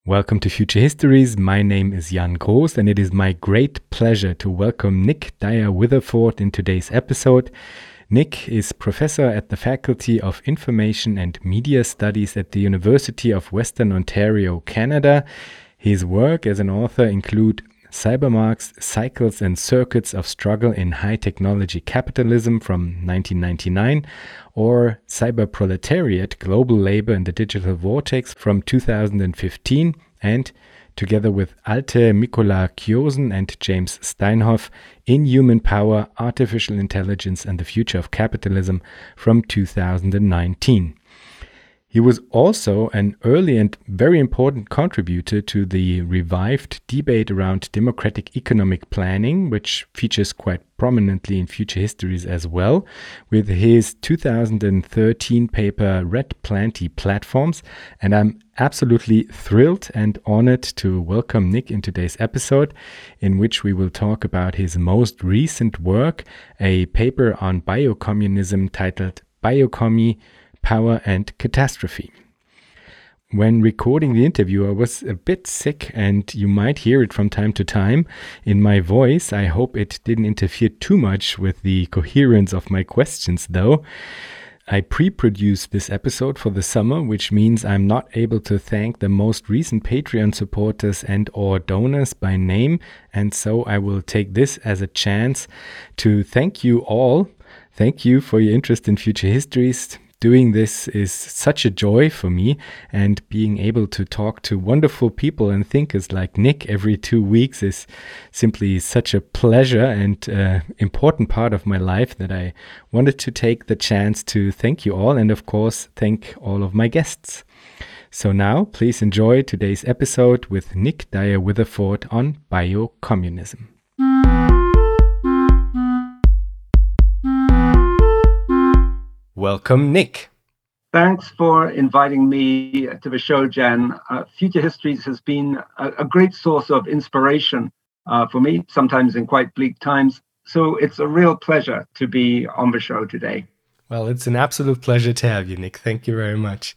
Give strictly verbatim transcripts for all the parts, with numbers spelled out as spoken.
Welcome to Future Histories. My name is Jan Groß, and it is my great pleasure to welcome Nick Dyer-Witherford in today's episode. Nick is professor at the Faculty of Information and Media Studies at the University of Western Ontario, Canada. His work as an author include Cybermarks, Cycles and Circuits of Struggle in High Technology Capitalism from nineteen ninety-nine, or Cyberproletariat, Global Labor in the Digital Vortex from two thousand fifteen, and together with Alte Mikula-Kjosen and James Steinhoff, Inhuman Power, Artificial Intelligence and the Future of Capitalism from two thousand nineteen. He was also an early and very important contributor to the revived debate around democratic economic planning, which features quite prominently in Future Histories as well, with his two thousand thirteen paper Red Plenty Platforms. And I'm absolutely thrilled and honored to welcome Nick in today's episode, in which we will talk about his most recent work, a paper on biocommunism titled Biocommie, Power and Catastrophe. When recording the interview, I was a bit sick, and you might hear it from time to time in my voice. I hope it didn't interfere too much with the coherence of my questions, though. I pre-produced this episode for the summer, which means I'm not able to thank the most recent Patreon supporters and or donors by name, and so I will take this as a chance to thank you all. Thank you for your interest in Future Histories. Doing this is such a joy for me, and being able to talk to wonderful people and thinkers like Nick every two weeks is simply such a pleasure and uh, important part of my life that I wanted to take the chance to thank you all, and of course thank all of my guests. So now please enjoy today's episode with Nick Dyer-Witherford on biocommunism. Welcome, Nick. Thanks for inviting me to the show, Jan. Uh, Future Histories has been a, a great source of inspiration uh, for me, sometimes in quite bleak times. So it's a real pleasure to be on the show today. Well, it's an absolute pleasure to have you, Nick. Thank you very much.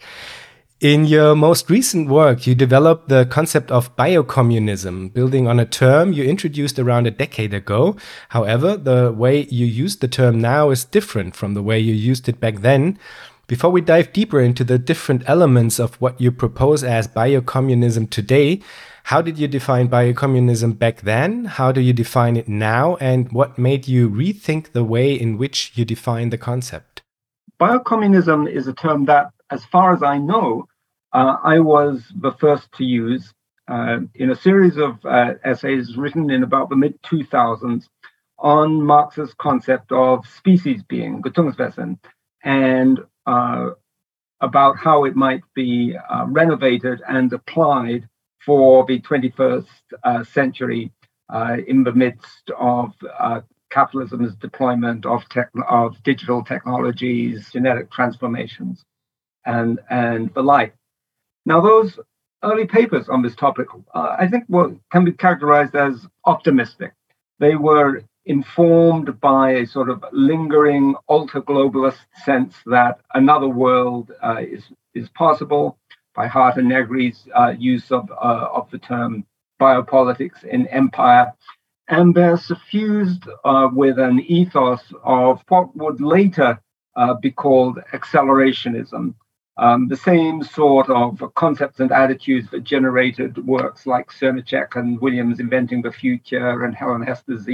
In your most recent work, you developed the concept of biocommunism, building on a term you introduced around a decade ago. However, the way you use the term now is different from the way you used it back then. Before we dive deeper into the different elements of what you propose as biocommunism today, how did you define biocommunism back then? How do you define it now? And what made you rethink the way in which you define the concept? Biocommunism is a term that, as far as I know, Uh, I was the first to use uh, in a series of uh, essays written in about the mid two thousands on Marx's concept of species being, Gattungswesen, and uh, about how it might be uh, renovated and applied for the twenty-first uh, century uh, in the midst of uh, capitalism's deployment of, tech- of digital technologies, genetic transformations, and, and the like. Now, those early papers on this topic, uh, I think, what can be characterized as optimistic. They were informed by a sort of lingering ultra-globalist sense that another world uh, is, is possible, by Harter Negri's uh, use of, uh, of the term biopolitics in empire. And they're suffused uh, with an ethos of what would later uh, be called accelerationism. Um, the same sort of concepts and attitudes that generated works like Cernacek and Williams Inventing the Future and Helen Hester's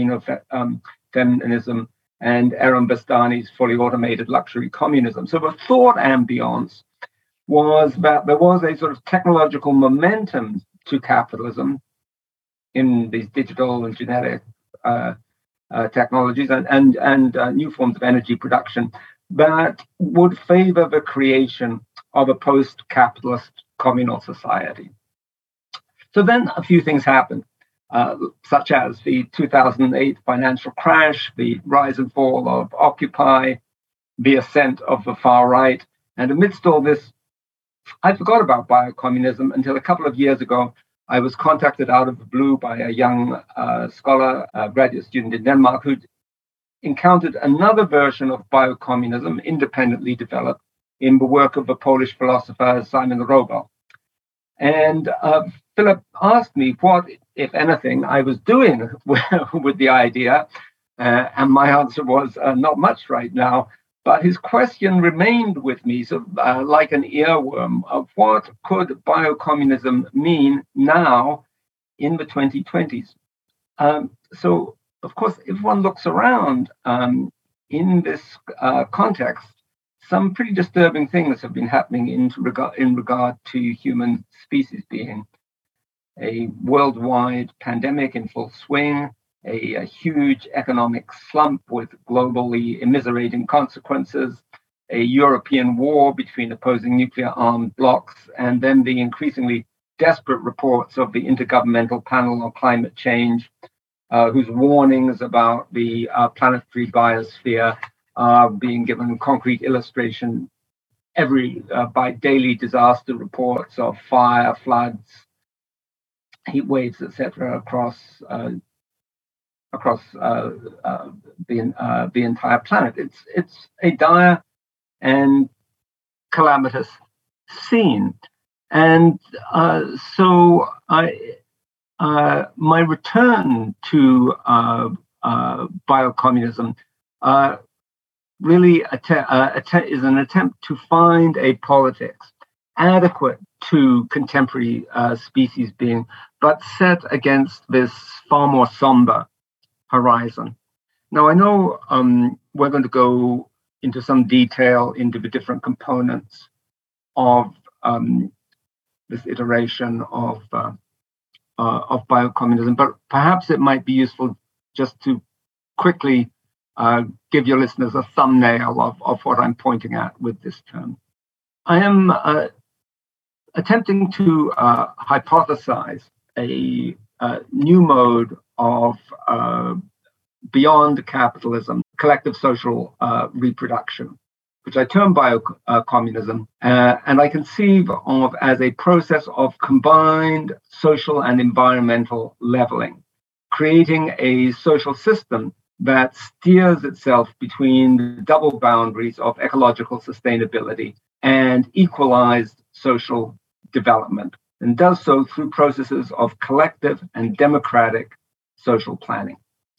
Xenofeminism um, and Aaron Bastani's Fully Automated Luxury Communism. So the thought ambience was that there was a sort of technological momentum to capitalism in these digital and genetic uh, uh, technologies and, and, and uh, new forms of energy production that would favor the creation of a post-capitalist communal society. So then a few things happened, uh, such as the two thousand eight financial crash, the rise and fall of Occupy, the ascent of the far right. And amidst all this, I forgot about biocommunism until a couple of years ago. I was contacted out of the blue by a young uh, scholar, a graduate student in Denmark, who'd encountered another version of biocommunism independently developed in the work of the Polish philosopher Simon Rogow. And uh, Philip asked me what, if anything, I was doing with, with the idea. Uh, and my answer was uh, not much right now. But his question remained with me, so uh, like an earworm, of what could biocommunism mean now in the twenty twenties? Um, so, of course, if one looks around um, in this uh, context, some pretty disturbing things have been happening in regard, in regard to human species being. A worldwide pandemic in full swing, a, a huge economic slump with globally immiserating consequences, a European war between opposing nuclear-armed blocs, and then the increasingly desperate reports of the Intergovernmental Panel on Climate Change, uh, whose warnings about the uh, planetary biosphere are being given concrete illustration every uh, by daily disaster reports of fire, floods, heat waves, et cetera, across uh, across uh, uh, the uh, the entire planet. It's it's a dire and calamitous scene, and uh, so I uh, my return to uh, uh, biocommunism uh, really att- uh, att- is an attempt to find a politics adequate to contemporary uh, species being, but set against this far more somber horizon. Now, I know um, we're going to go into some detail into the different components of um, this iteration of uh, uh, of biocommunism, but perhaps it might be useful just to quickly uh, give your listeners a thumbnail of, of what I'm pointing at with this term. I am uh, attempting to uh, hypothesize a, a new mode of uh, beyond capitalism, collective social uh, reproduction, which I term biocommunism, uh, and I conceive of as a process of combined social and environmental leveling, creating a social system that steers itself between the double boundaries of ecological sustainability and equalized social development, and does so through processes of collective and democratic social planning.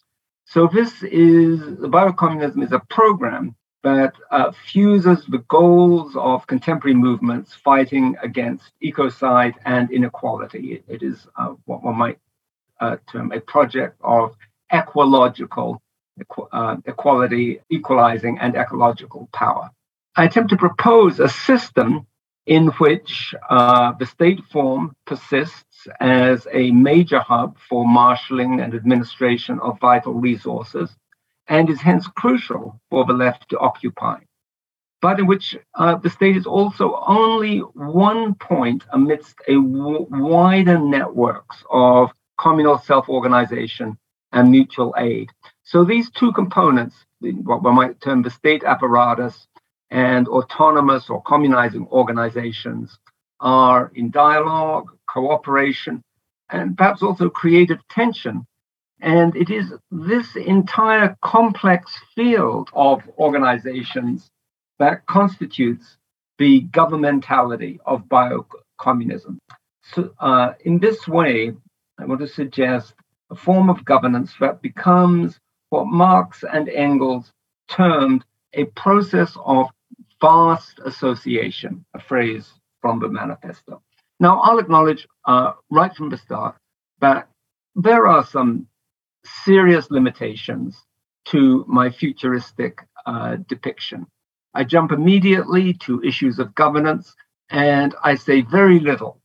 So this is, biocommunism is a program that uh, fuses the goals of contemporary movements fighting against ecocide and inequality. It, it is uh, what one might uh, term a project of ecological equ- uh, equality, equalizing, and ecological power. I attempt to propose a system in which uh, the state form persists as a major hub for marshalling and administration of vital resources, and is hence crucial for the left to occupy, but in which uh, the state is also only one point amidst a w- wider networks of communal self-organization and mutual aid. So these two components, what one might term the state apparatus and autonomous or communizing organizations, are in dialogue, cooperation, and perhaps also creative tension. And it is this entire complex field of organizations that constitutes the governmentality of biocommunism. So uh, in this way, I want to suggest a form of governance that becomes what Marx and Engels termed a process of vast association, a phrase from the manifesto. Now, I'll acknowledge uh, right from the start that there are some serious limitations to my futuristic uh, depiction. I jump immediately to issues of governance, and I say very little,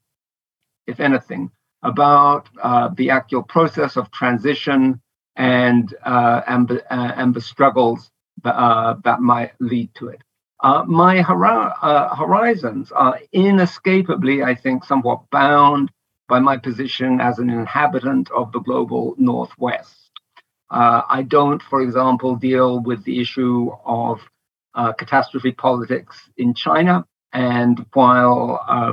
if anything, about uh, the actual process of transition and uh, and, the, uh, and the struggles that, uh, that might lead to it. Uh, my hor- uh, horizons are inescapably, I think, somewhat bound by my position as an inhabitant of the global Northwest. Uh, I don't, for example, deal with the issue of uh, catastrophe politics in China. And while uh,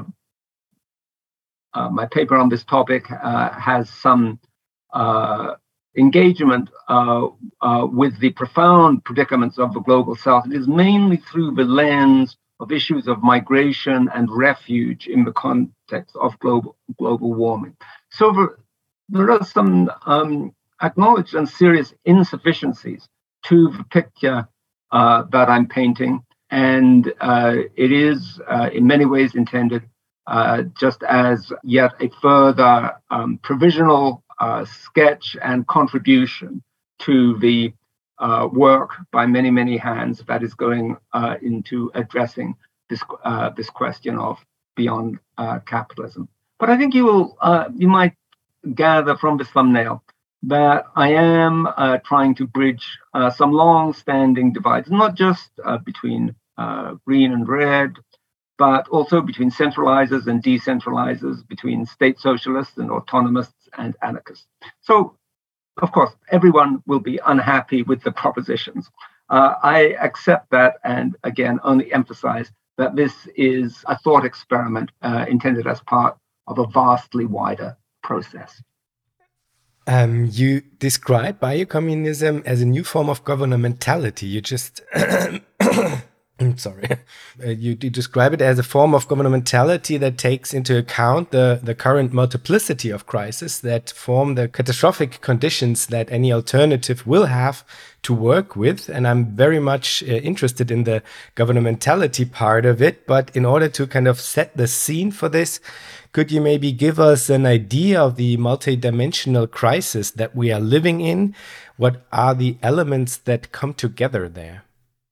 uh, my paper on this topic uh, has some uh, engagement uh, uh, with the profound predicaments of the global South, it is mainly through the lens of issues of migration and refuge in the context of global global warming. So there, there are some um, acknowledged and serious insufficiencies to the picture uh, that I'm painting, and uh, it is uh, in many ways intended uh, just as yet a further um, provisional uh, sketch and contribution to the uh, work by many, many hands that is going uh, into addressing this uh, this question of beyond uh, capitalism. But I think you will uh, you might gather from this thumbnail that I am uh, trying to bridge uh, some long-standing divides, not just uh, between uh, green and red, but also between centralizers and decentralizers, between state socialists and autonomists and anarchists. So, of course, everyone will be unhappy with the propositions. Uh, I accept that and, again, only emphasize that this is a thought experiment uh, intended as part of a vastly wider process. Um, you describe biocommunism as a new form of governmentality. You just... I'm sorry. Uh, you, you describe it as a form of governmentality that takes into account the, the current multiplicity of crises that form the catastrophic conditions that any alternative will have to work with. And I'm very much uh, interested in the governmentality part of it. But in order to kind of set the scene for this, could you maybe give us an idea of the multidimensional crisis that we are living in? What are the elements that come together there?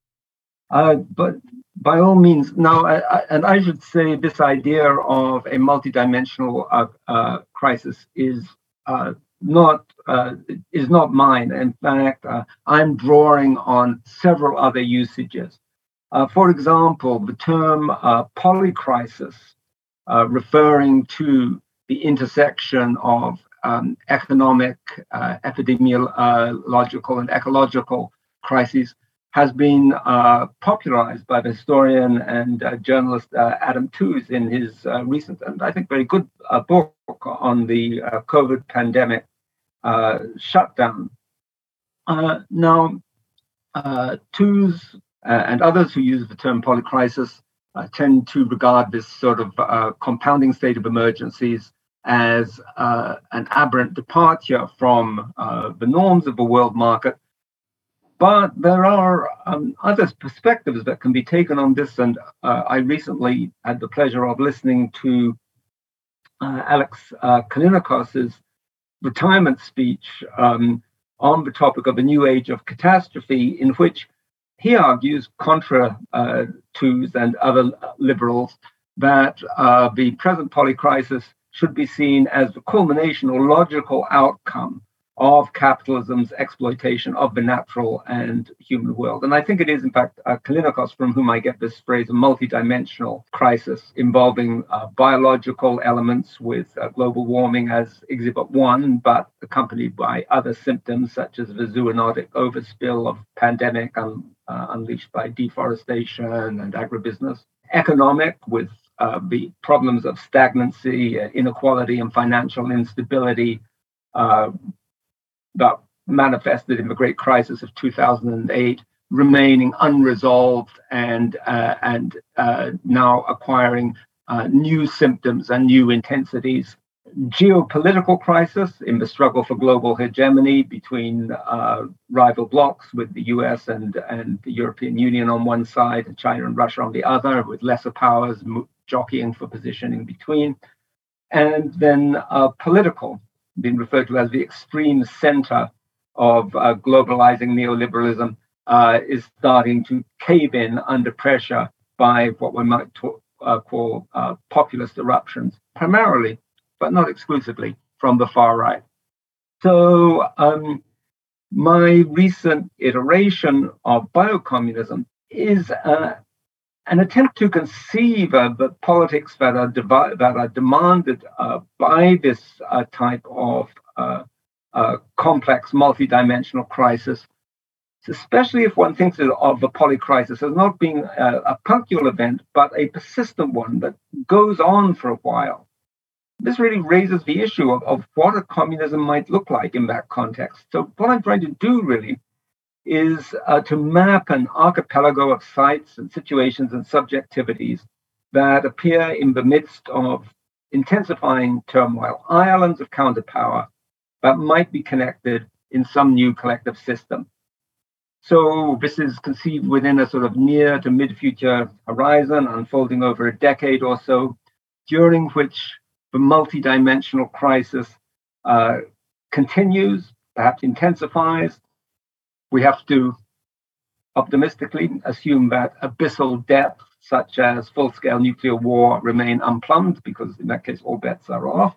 Uh, but by all means, now, I, I, and I should say this idea of a multidimensional uh, uh, crisis is uh, not uh, is not mine. In fact, uh, I'm drawing on several other usages. Uh, for example, the term uh, polycrisis, uh, referring to the intersection of um, economic, uh, epidemiological, and ecological crises, has been uh, popularized by the historian and uh, journalist uh, Adam Tooze in his uh, recent and I think very good uh, book on the uh, COVID pandemic uh, shutdown. Uh, now, uh, Tooze uh, and others who use the term polycrisis uh, tend to regard this sort of uh, compounding state of emergencies as uh, an aberrant departure from uh, the norms of the world market. But there are um, other perspectives that can be taken on this. And uh, I recently had the pleasure of listening to uh, Alex uh, Kalinikos's retirement speech um, on the topic of a new age of catastrophe, in which he argues, contra uh, Tooze and other liberals, that uh, the present polycrisis should be seen as the culmination or logical outcome of capitalism's exploitation of the natural and human world. And I think it is, in fact, uh, Kalinikos from whom I get this phrase, a multidimensional crisis involving uh, biological elements with uh, global warming as exhibit one, but accompanied by other symptoms such as the zoonotic overspill of pandemic un, uh, unleashed by deforestation and agribusiness. Economic, with uh, the problems of stagnancy, uh, inequality, and financial instability, uh, that manifested in the Great Crisis of two thousand eight, remaining unresolved and uh, and uh, now acquiring uh, new symptoms and new intensities. Geopolitical crisis in the struggle for global hegemony between uh, rival blocs, with the U S and, and the European Union on one side and China and Russia on the other, with lesser powers jockeying for position in between. And then uh, political, been referred to as the extreme center of uh, globalizing neoliberalism, uh, is starting to cave in under pressure by what we might talk, uh, call uh, populist eruptions, primarily, but not exclusively, from the far right. So um, my recent iteration of biocommunism is uh, an attempt to conceive of the politics that are devi- that are demanded uh, by this uh, type of uh, uh, complex, multidimensional crisis, especially if one thinks of the polycrisis as not being a, a punctual event, but a persistent one that goes on for a while. This really raises the issue of, of what a communism might look like in that context. So what I'm trying to do really is uh, to map an archipelago of sites and situations and subjectivities that appear in the midst of intensifying turmoil, islands of counterpower that might be connected in some new collective system. So this is conceived within a sort of near to mid-future horizon, unfolding over a decade or so, during which the multidimensional crisis uh, continues, perhaps intensifies. We have to optimistically assume that abyssal depths, such as full-scale nuclear war, remain unplumbed, because in that case, all bets are off.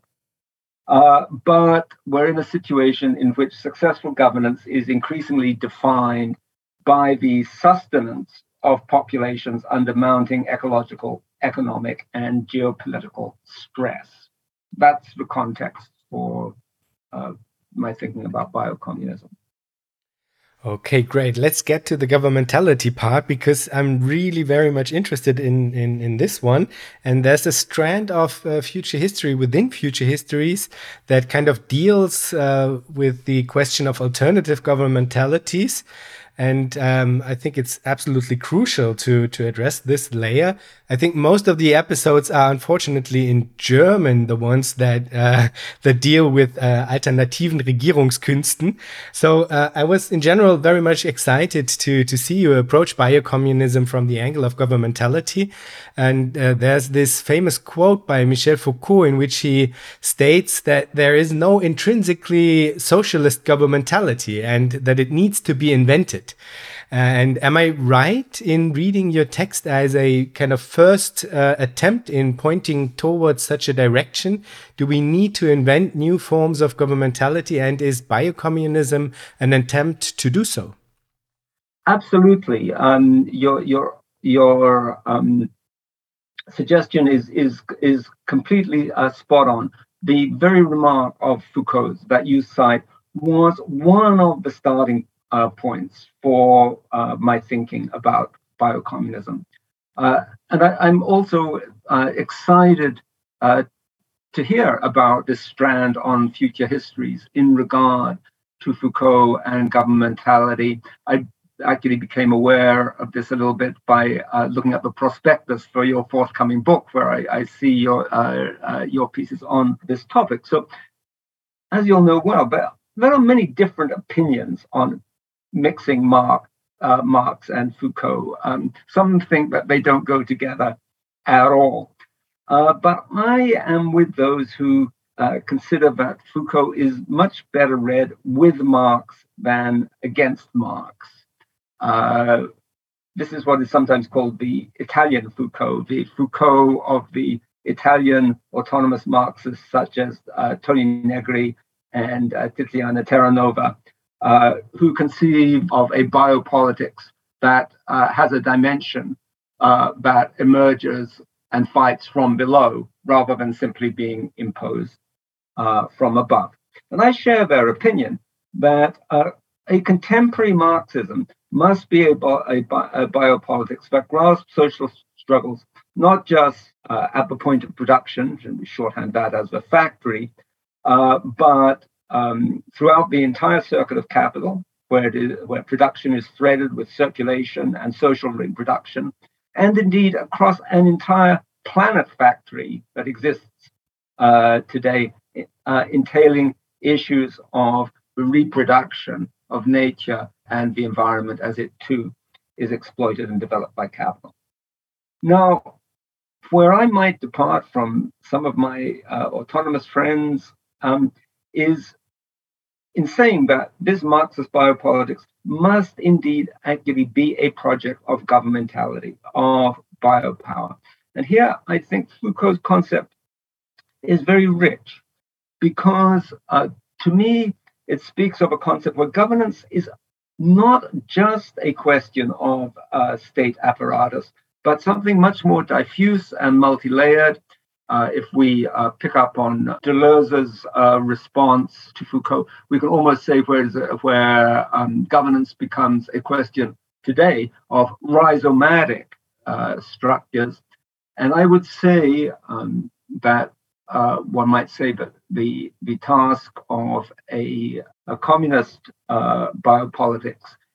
Uh, but we're in a situation in which successful governance is increasingly defined by the sustenance of populations under mounting ecological, economic, and geopolitical stress. That's the context for uh, my thinking about biocommunism. Okay, great. Let's get to the governmentality part, because I'm really very much interested in, in, in this one. And there's a strand of uh, future history within future histories that kind of deals uh, with the question of alternative governmentalities. And um, I think it's absolutely crucial to to address this layer. I think most of the episodes are unfortunately in German, the ones that uh, that deal with uh, alternativen Regierungskünsten. So uh, I was in general very much excited to to see you approach biocommunism from the angle of governmentality. And uh, there's this famous quote by Michel Foucault in which he states that there is no intrinsically socialist governmentality and that it needs to be invented. And am I right in reading your text as a kind of first uh, attempt in pointing towards such a direction? Do we need to invent new forms of governmentality, and is biocommunism an attempt to do so? Absolutely. Um, your your your um, suggestion is is is completely uh, spot on. The very remark of Foucault's that you cite was one of the starting uh, points for uh, my thinking about biocommunism. Uh, and I, I'm also uh, excited uh, to hear about this strand on future histories in regard to Foucault and governmentality. I actually became aware of this a little bit by uh, looking at the prospectus for your forthcoming book, where I, I see your uh, uh, your pieces on this topic. So, as you'll know well, there, there are many different opinions on mixing Marx, uh, Marx and Foucault. Um, some think that they don't go together at all. Uh, but I am with those who uh, consider that Foucault is much better read with Marx than against Marx. Uh, this is what is sometimes called the Italian Foucault, the Foucault of the Italian autonomous Marxists such as uh, Toni Negri and uh, Tiziana Terranova, uh, who conceive of a biopolitics that uh, has a dimension uh, that emerges and fights from below rather than simply being imposed uh, from above. And I share their opinion that uh, a contemporary Marxism must be a, a, a biopolitics that grasps social struggles, not just uh, at the point of production, and we shorthand that as the factory, uh, but um, throughout the entire circuit of capital, where, it is, where production is threaded with circulation and social reproduction, and indeed across an entire planet factory that exists uh, today, uh, entailing issues of the reproduction of nature and the environment as it too is exploited and developed by capital. Now, where I might depart from some of my uh, autonomous friends um, is in saying that this Marxist biopolitics must indeed actually be a project of governmentality, of biopower. And here I think Foucault's concept is very rich because uh, to me, it speaks of a concept where governance is not just a question of uh, state apparatus, but something much more diffuse and multi-layered. Uh, if we uh, pick up on Deleuze's uh, response to Foucault, we can almost say where, where um, governance becomes a question today of rhizomatic uh, structures. And I would say um, that uh, one might say that the, the task of a, a communist uh, biopolitics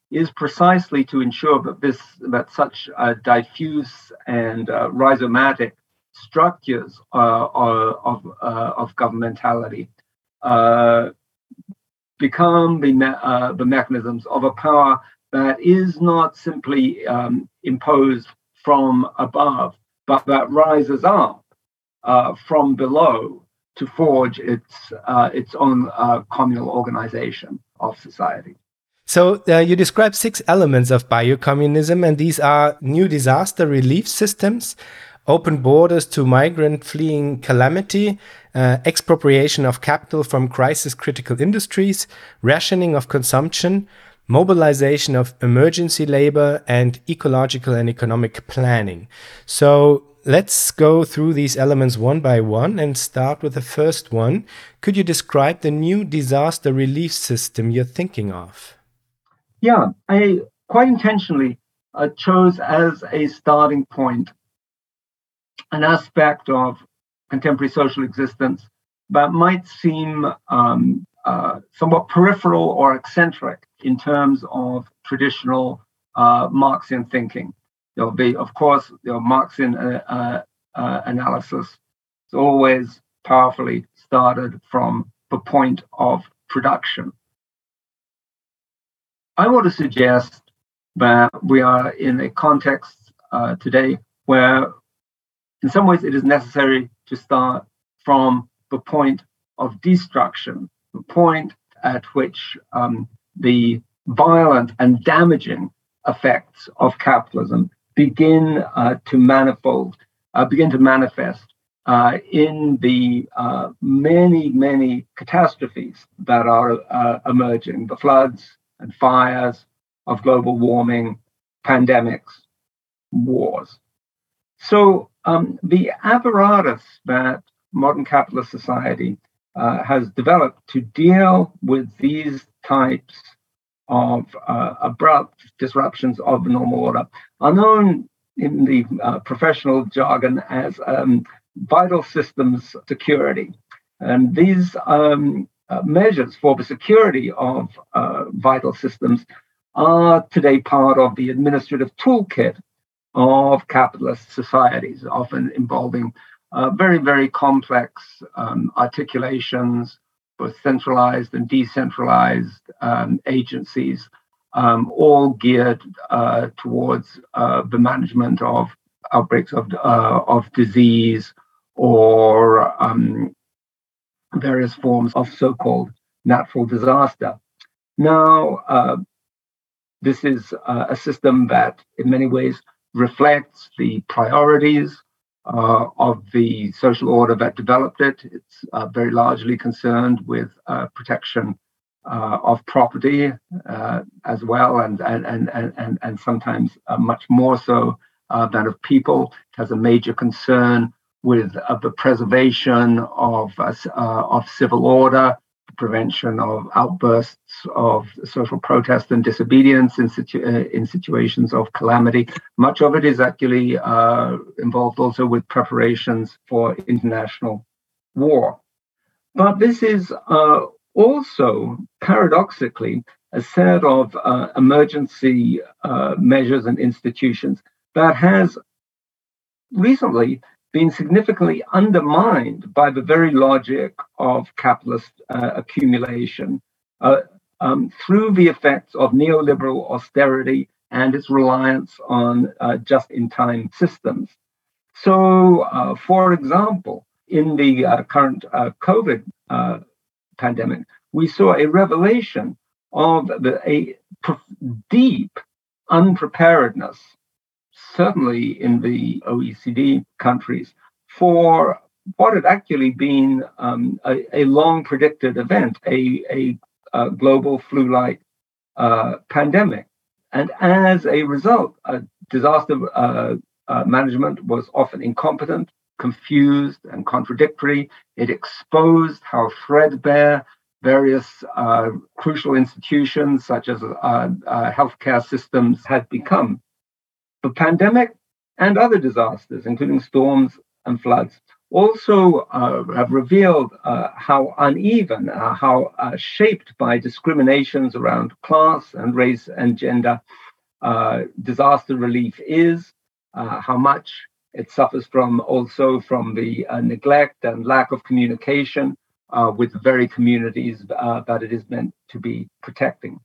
is precisely to ensure that this that such uh, diffuse and uh, rhizomatic structures uh, of uh, of governmentality uh, become the me- uh, the mechanisms of a power that is not simply um, imposed from above, but that rises up uh, from below to forge its uh, its own uh, communal organization of society. So uh, you describe six elements of biocommunism, and these are new disaster relief systems, open borders to migrant fleeing calamity, uh, expropriation of capital from crisis-critical industries, rationing of consumption, mobilization of emergency labor, and ecological and economic planning. So let's go through these elements one by one and start with the first one. Could you describe the new disaster relief system you're thinking of? Yeah, I quite intentionally uh, chose as a starting point an aspect of contemporary social existence that might seem um, uh, somewhat peripheral or eccentric in terms of traditional uh, Marxian thinking. There'll be, of course, you know, Marxian uh, uh, uh, analysis is always powerfully started from the point of production. I want to suggest that we are in a context uh, today where, in some ways, it is necessary to start from the point of destruction, the point at which um, the violent and damaging effects of capitalism begin uh, to manifold, uh, begin to manifest uh, in the uh, many, many catastrophes that are uh, emerging, the floods and fires of global warming, pandemics, wars. So um, the apparatus that modern capitalist society uh, has developed to deal with these types of uh, abrupt disruptions of the normal order are known in the uh, professional jargon as um, vital systems security. And these um, uh, measures for the security of uh, vital systems are today part of the administrative toolkit of capitalist societies, often involving uh, very, very complex um, articulations, both centralized and decentralized um, agencies, um, all geared uh, towards uh, the management of outbreaks of, uh, of disease or um, various forms of so-called natural disaster. Now, uh, this is uh, a system that in many ways reflects the priorities uh, of the social order that developed it. It's uh, very largely concerned with uh, protection uh, of property uh, as well, and and and and and sometimes uh, much more so uh, than of people. It has a major concern with uh, the preservation of uh, uh, of civil order, prevention of outbursts of social protest and disobedience in, situ- uh, in situations of calamity. Much of it is actually uh, involved also with preparations for international war. But this is uh, also, paradoxically, a set of uh, emergency uh, measures and institutions that has recently been significantly undermined by the very logic of capitalist uh, accumulation uh, um, through the effects of neoliberal austerity and its reliance on uh, just-in-time systems. So, uh, for example, in the uh, current uh, COVID uh, pandemic, we saw a revelation of the, a deep unpreparedness, certainly in the O E C D countries, for what had actually been um, a, a long predicted event, a, a, a global flu-like uh, pandemic. And as a result, uh, disaster uh, uh, management was often incompetent, confused, and contradictory. It exposed how threadbare various uh, crucial institutions, such as uh, uh, healthcare systems, had become. The pandemic and other disasters, including storms and floods, also uh, have revealed uh, how uneven, uh, how uh, shaped by discriminations around class and race and gender uh, disaster relief is, uh, how much it suffers from also from the uh, neglect and lack of communication uh, with the very communities uh, that it is meant to be protecting.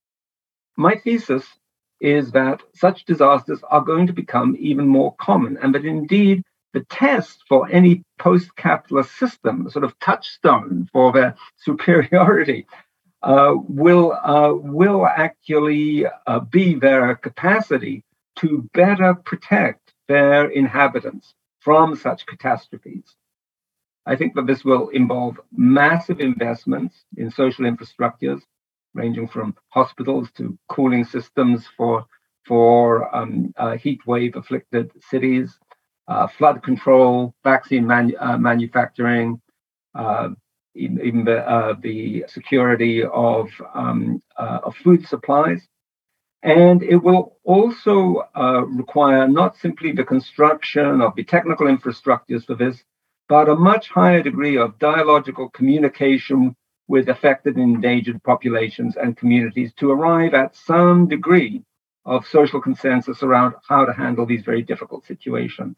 My thesis is that such disasters are going to become even more common, and that indeed the test for any post-capitalist system, the sort of touchstone for their superiority, uh, will uh, will actually uh, be their capacity to better protect their inhabitants from such catastrophes. I think that this will involve massive investments in social infrastructures, ranging from hospitals to cooling systems for for um, uh, heat wave afflicted cities, uh, flood control, vaccine manu- uh, manufacturing, uh, even, even the, uh, the security of, um, uh, of food supplies. And it will also uh, require not simply the construction of the technical infrastructures for this, but a much higher degree of dialogical communication with affected and endangered populations and communities to arrive at some degree of social consensus around how to handle these very difficult situations.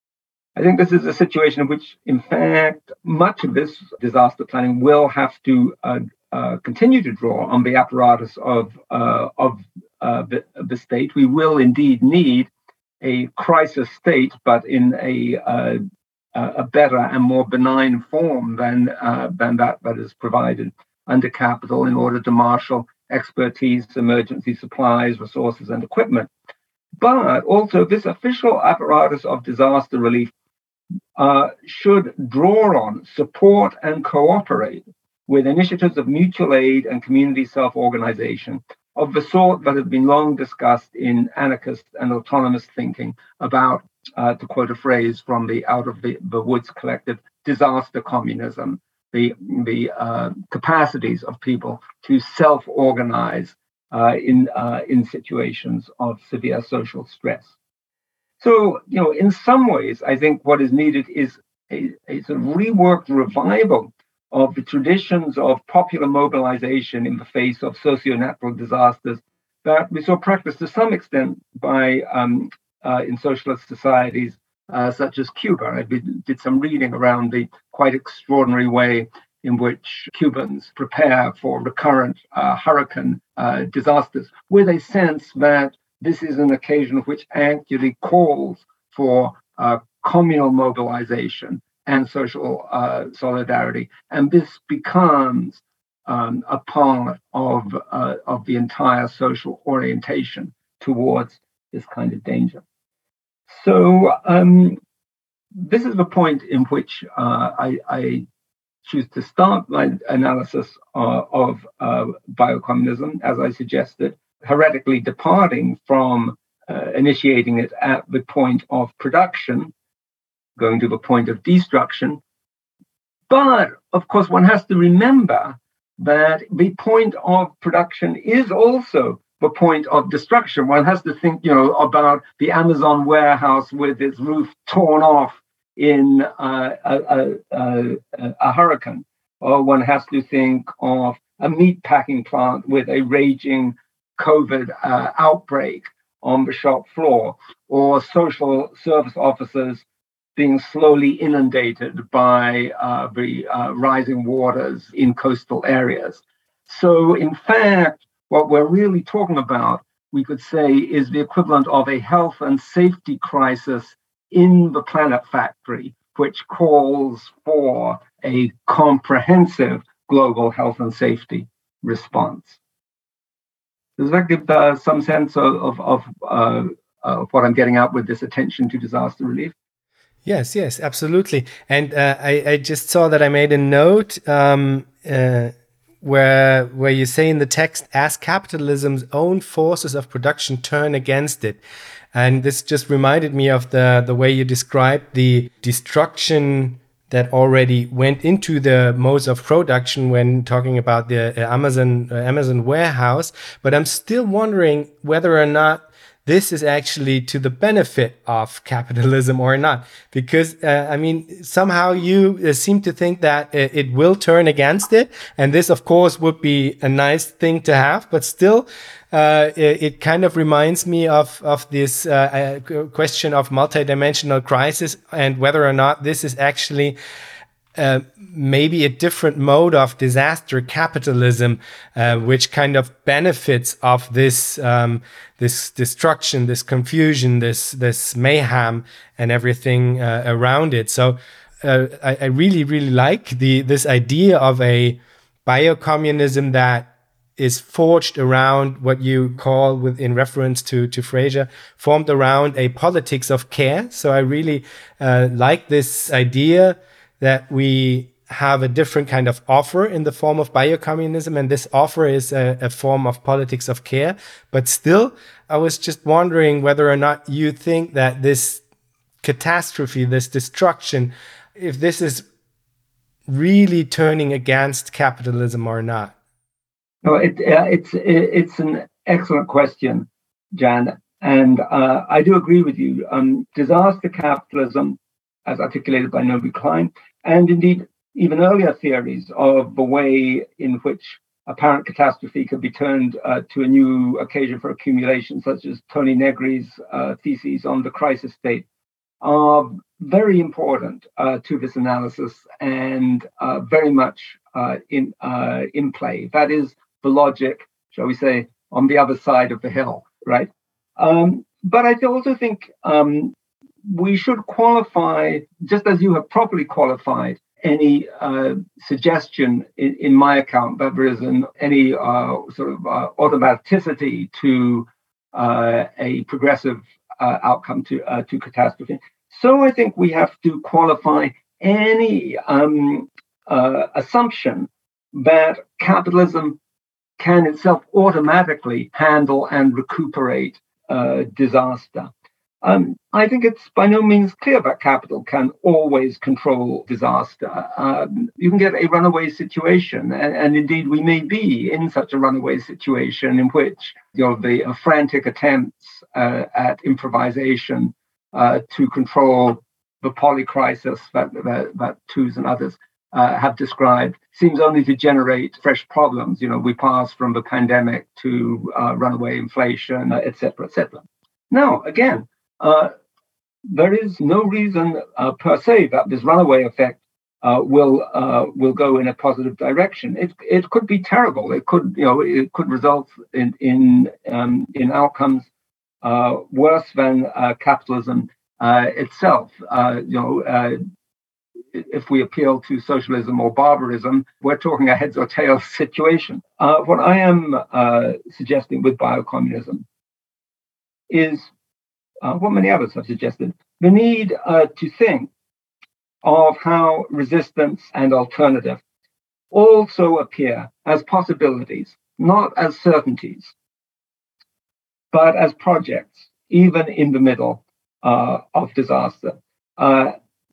I think this is a situation in which, in fact, much of this disaster planning will have to uh, uh, continue to draw on the apparatus of, uh, of uh, the, the state. We will indeed need a crisis state, but in a uh, a better and more benign form than uh, than that that is provided under capital in order to marshal expertise, emergency supplies, resources, and equipment. But also, this official apparatus of disaster relief uh, should draw on, support, and cooperate with initiatives of mutual aid and community self-organization of the sort that have been long discussed in anarchist and autonomous thinking about, uh, to quote a phrase from the Out of the, the Woods collective, disaster communism, the, the uh, capacities of people to self-organize uh, in, uh, in situations of severe social stress. So, you know, in some ways, I think what is needed is a, a sort of reworked revival of the traditions of popular mobilization in the face of socio-natural disasters that we saw practiced to some extent by um, uh, in socialist societies uh, such as Cuba. I did some reading around the quite extraordinary way in which Cubans prepare for recurrent uh, hurricane uh, disasters, with a sense that this is an occasion which actually calls for uh, communal mobilization and social uh, solidarity. And this becomes um, a part of, uh, of the entire social orientation towards this kind of danger. So um, this is the point in which uh, I, I choose to start my analysis uh, of uh, biocommunism, as I suggested, heretically departing from uh, initiating it at the point of production, going to the point of destruction. But, of course, one has to remember that the point of production is also the point of destruction. One has to think, you know, about the Amazon warehouse with its roof torn off in uh, a, a, a, a hurricane. Or one has to think of a meat packing plant with a raging COVID uh, outbreak on the shop floor, or social service officers being slowly inundated by uh, the uh, rising waters in coastal areas. So, in fact, what we're really talking about, we could say, is the equivalent of a health and safety crisis in the planet factory, which calls for a comprehensive global health and safety response. Does that give uh, some sense of, of, of, uh, of what I'm getting at with this attention to disaster relief? Yes, yes, absolutely. And uh, I, I just saw that I made a note um, uh, where where you say in the text, as capitalism's own forces of production turn against it. And this just reminded me of the, the way you described the destruction that already went into the modes of production when talking about the uh, Amazon uh, Amazon warehouse. But I'm still wondering whether or not this is actually to the benefit of capitalism or not? Because, uh, I mean, somehow you uh, seem to think that it, it will turn against it. And this, of course, would be a nice thing to have. But still, uh, it, it kind of reminds me of, of this uh, uh, question of multidimensional crisis and whether or not this is actually Uh, maybe a different mode of disaster capitalism, uh, which kind of benefits of this um, this destruction, this confusion, this this mayhem, and everything uh, around it. So uh, I, I really really like the this idea of a biocommunism that is forged around what you call, with in reference to to Fraser, formed around a politics of care. So I really uh, like this idea that we have a different kind of offer in the form of biocommunism, and this offer is a, a form of politics of care. But still, I was just wondering whether or not you think that this catastrophe, this destruction, if this is really turning against capitalism or not. No, it, uh, it's it, it's an excellent question, Jan, and uh, I do agree with you. Um, disaster capitalism, as articulated by Naomi Klein, and indeed even earlier theories of the way in which apparent catastrophe could be turned uh, to a new occasion for accumulation, such as Tony Negri's uh, theses on the crisis state, are very important uh, to this analysis and uh, very much uh, in uh, in play. That is the logic, shall we say, on the other side of the hill, right? Um, but I also think um, we should qualify, just as you have properly qualified, any uh, suggestion in, in my account that there is an, any uh, sort of uh, automaticity to uh, a progressive uh, outcome to uh, to catastrophe. So I think we have to qualify any um, uh, assumption that capitalism can itself automatically handle and recuperate uh, disaster. Um, I think it's by no means clear that capital can always control disaster. Um, you can get a runaway situation, and, and indeed we may be in such a runaway situation in which, you know, the uh, frantic attempts uh, at improvisation uh, to control the polycrisis that, that, that Tooze and others uh, have described seems only to generate fresh problems. You know, we pass from the pandemic to uh, runaway inflation, uh, et cetera, et cetera. Now, again, Uh, there is no reason uh, per se that this runaway effect uh, will uh, will go in a positive direction. It it could be terrible. It could you know it could result in in um, in outcomes uh, worse than uh, capitalism uh, itself. Uh, you know, uh, if we appeal to socialism or barbarism, we're talking a heads or tails situation. Uh, what I am uh, suggesting with biocommunism is, Uh, what many others have suggested, the need uh, to think of how resistance and alternative also appear as possibilities, not as certainties, but as projects, even in the middle uh, of disaster. Uh,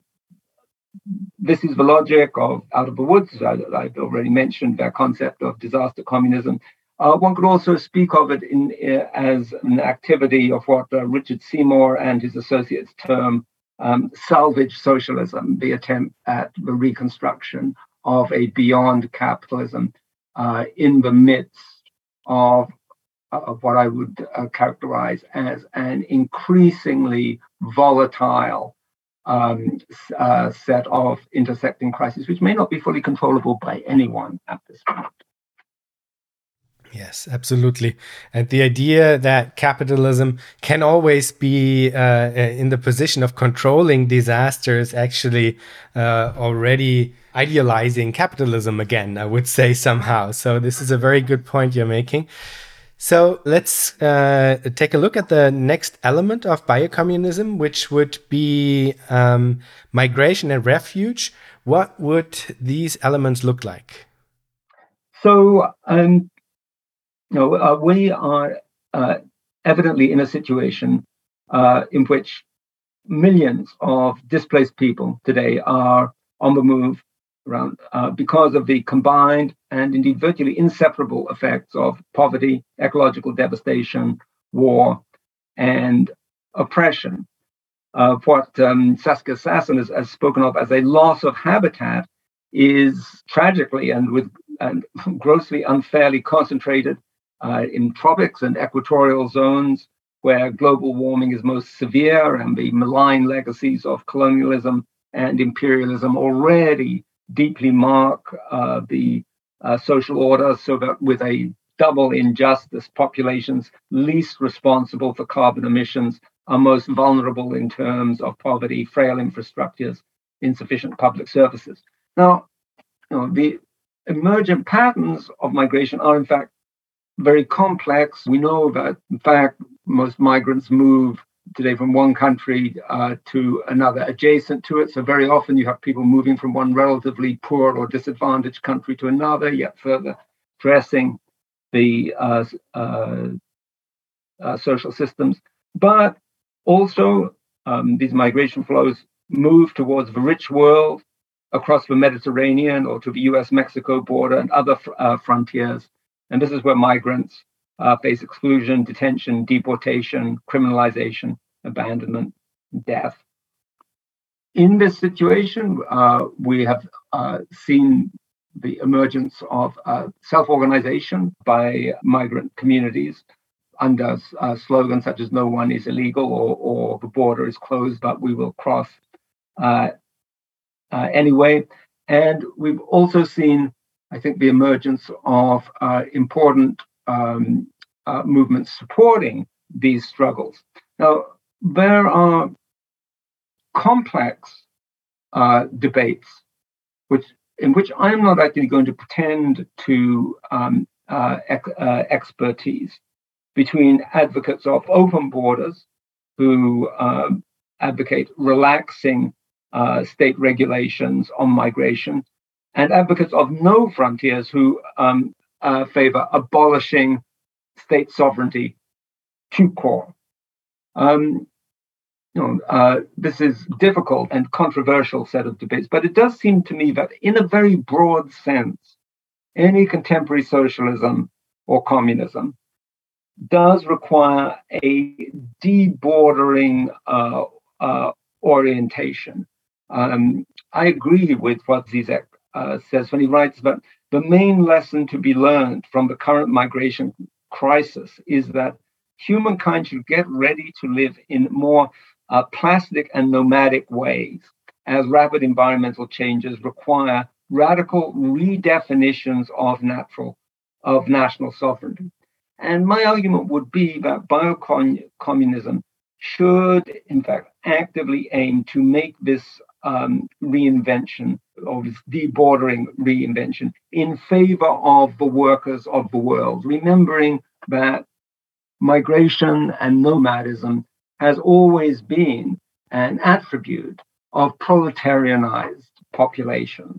this is the logic of Out of the Woods. I, I've already mentioned their concept of disaster communism. Uh, one could also speak of it in, uh, as an activity of what uh, Richard Seymour and his associates term um, salvage socialism, the attempt at the reconstruction of a beyond capitalism uh, in the midst of, of what I would uh, characterize as an increasingly volatile um, uh, set of intersecting crises, which may not be fully controllable by anyone at this point. Yes, absolutely. And the idea that capitalism can always be uh, in the position of controlling disaster is actually uh, already idealizing capitalism again, I would say somehow. So this is a very good point you're making. So let's uh, take a look at the next element of biocommunism, which would be um, migration and refuge. What would these elements look like? So, um, You know, uh, we are uh, evidently in a situation uh, in which millions of displaced people today are on the move around uh, because of the combined and indeed virtually inseparable effects of poverty, ecological devastation, war, and oppression. Uh, what um, Saskia Sassen has, has spoken of as a loss of habitat is tragically and with and grossly unfairly concentrated uh, in tropics and equatorial zones where global warming is most severe, and the malign legacies of colonialism and imperialism already deeply mark uh, the uh, social order, so that with a double injustice, populations least responsible for carbon emissions are most vulnerable in terms of poverty, frail infrastructures, insufficient public services. Now, you know, the emergent patterns of migration are in fact very complex. We know that, in fact, most migrants move today from one country uh, to another adjacent to it. So very often you have people moving from one relatively poor or disadvantaged country to another, yet further stressing the uh, uh, uh, social systems. But also, um, these migration flows move towards the rich world across the Mediterranean or to the U S Mexico border and other uh, frontiers. And this is where migrants uh, face exclusion, detention, deportation, criminalization, abandonment, death. In this situation, uh, we have uh, seen the emergence of uh, self-organization by migrant communities under uh, slogans such as "No one is illegal" or, or "The border is closed, but we will cross uh, uh, anyway." And we've also seen, I think, the emergence of uh, important um, uh, movements supporting these struggles. Now, there are complex uh, debates, which in which I'm not actually going to pretend to um, uh, ec- uh, expertise, between advocates of open borders who um, advocate relaxing uh, state regulations on migration, and advocates of no frontiers who um, uh, favor abolishing state sovereignty to core. Um, you know, uh, this is difficult and controversial set of debates, but it does seem to me that in a very broad sense, any contemporary socialism or communism does require a debordering uh, uh, orientation. Um, I agree with what Zizek uh, says when he writes that the main lesson to be learned from the current migration crisis is that humankind should get ready to live in more uh, plastic and nomadic ways, as rapid environmental changes require radical redefinitions of natural, of national sovereignty. And my argument would be that biocommunism should, in fact, actively aim to make this um, reinvention, or this debordering reinvention, in favor of the workers of the world, remembering that migration and nomadism has always been an attribute of proletarianized populations.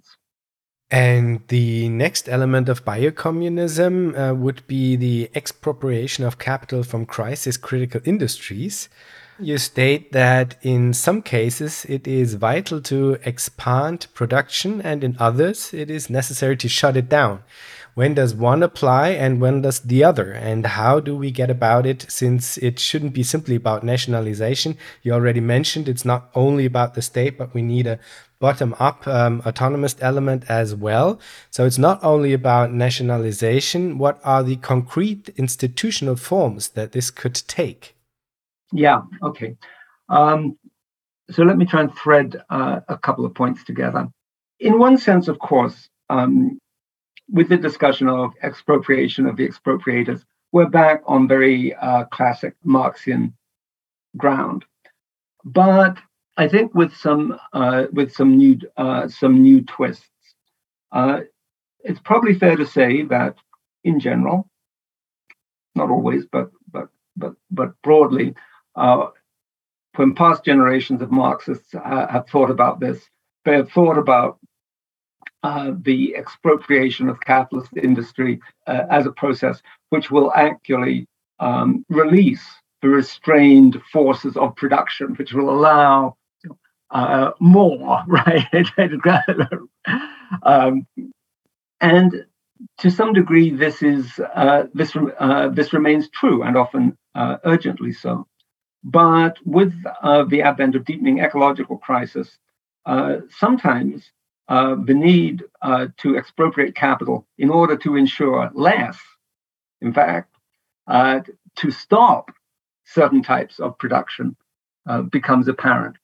And the next element of biocommunism uh, would be the expropriation of capital from crisis-critical industries. You state that in some cases it is vital to expand production, and in others it is necessary to shut it down. When does one apply and when does the other? And how do we get about it, since it shouldn't be simply about nationalization? You already mentioned it's not only about the state, but we need a bottom-up um, autonomous element as well. So it's not only about nationalization. What are the concrete institutional forms that this could take? Yeah, okay. Um, so let me try and thread uh, a couple of points together. In one sense, of course, um, with the discussion of expropriation of the expropriators, we're back on very uh, classic Marxian ground. But I think with some uh, with some new uh, some new twists, uh, it's probably fair to say that in general, not always, but but but but broadly, uh, when past generations of Marxists uh, have thought about this, they have thought about uh, the expropriation of capitalist industry uh, as a process which will actually um, release the restrained forces of production, which will allow uh, more, right? um, and to some degree, this is uh, this uh, this remains true, and often uh, urgently so. But with uh, the advent of deepening ecological crisis, uh, sometimes uh, the need uh, to expropriate capital in order to ensure less, in fact, uh, to stop certain types of production uh, becomes apparent.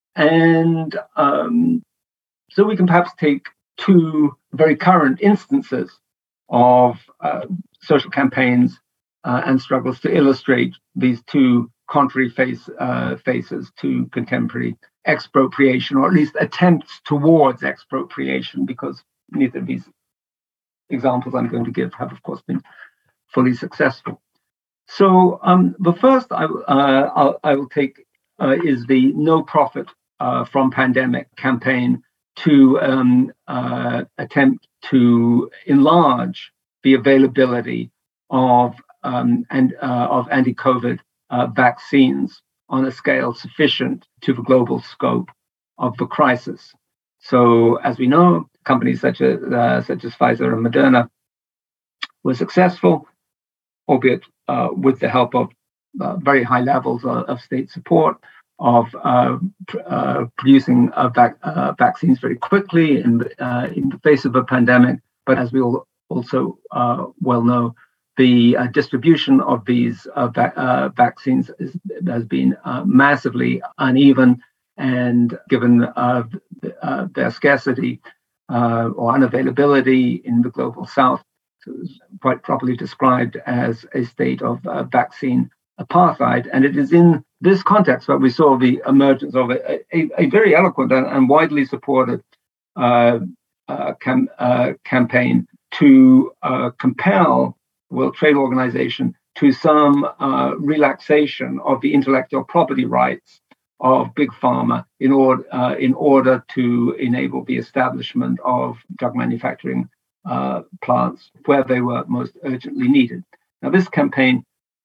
And um, so we can perhaps take two very current instances of uh, social campaigns uh, and struggles to illustrate these two contrary face, uh, faces to contemporary expropriation, or at least attempts towards expropriation, because neither of these examples I'm going to give have, of course, been fully successful. So um, the first I, uh, I'll, I will take uh, is the No Profit uh, from Pandemic campaign to um, uh, attempt to enlarge the availability of um, and uh, of anti-COVID uh, vaccines on a scale sufficient to the global scope of the crisis. So, as we know, companies such as uh, such as Pfizer and Moderna were successful, albeit uh, with the help of uh, very high levels of, of state support, of uh, pr- uh, producing uh, vac- uh, vaccines very quickly in the, uh, in the face of a pandemic. But as we all also uh, well know, the uh, distribution of these uh, va- uh, vaccines is, has been uh, massively uneven, and given uh, th- uh, their scarcity uh, or unavailability in the global south, so it's quite properly described as a state of uh, vaccine apartheid. And it is in this context that we saw the emergence of a, a, a very eloquent and, and widely supported uh, uh, cam, uh, campaign to uh, compel the World Trade Organization to some uh, relaxation of the intellectual property rights of big pharma in order uh, in order to enable the establishment of drug manufacturing uh, plants where they were most urgently needed. Now, this campaign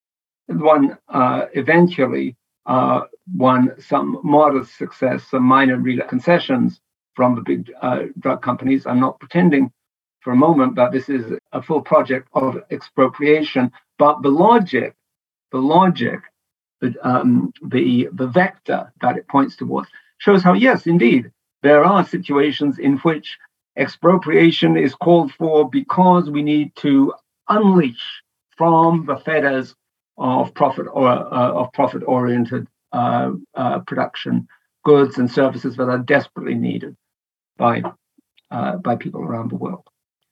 won uh, eventually uh, won some modest success, some minor concessions from the big uh, drug companies. I'm not pretending for a moment that this is a full project of expropriation, but the logic, the logic, the um, the the vector that it points towards shows how, yes, indeed, there are situations in which expropriation is called for because we need to unleash from the fetters of profit or uh, of profit-oriented uh, uh, production goods and services that are desperately needed by uh, by people around the world.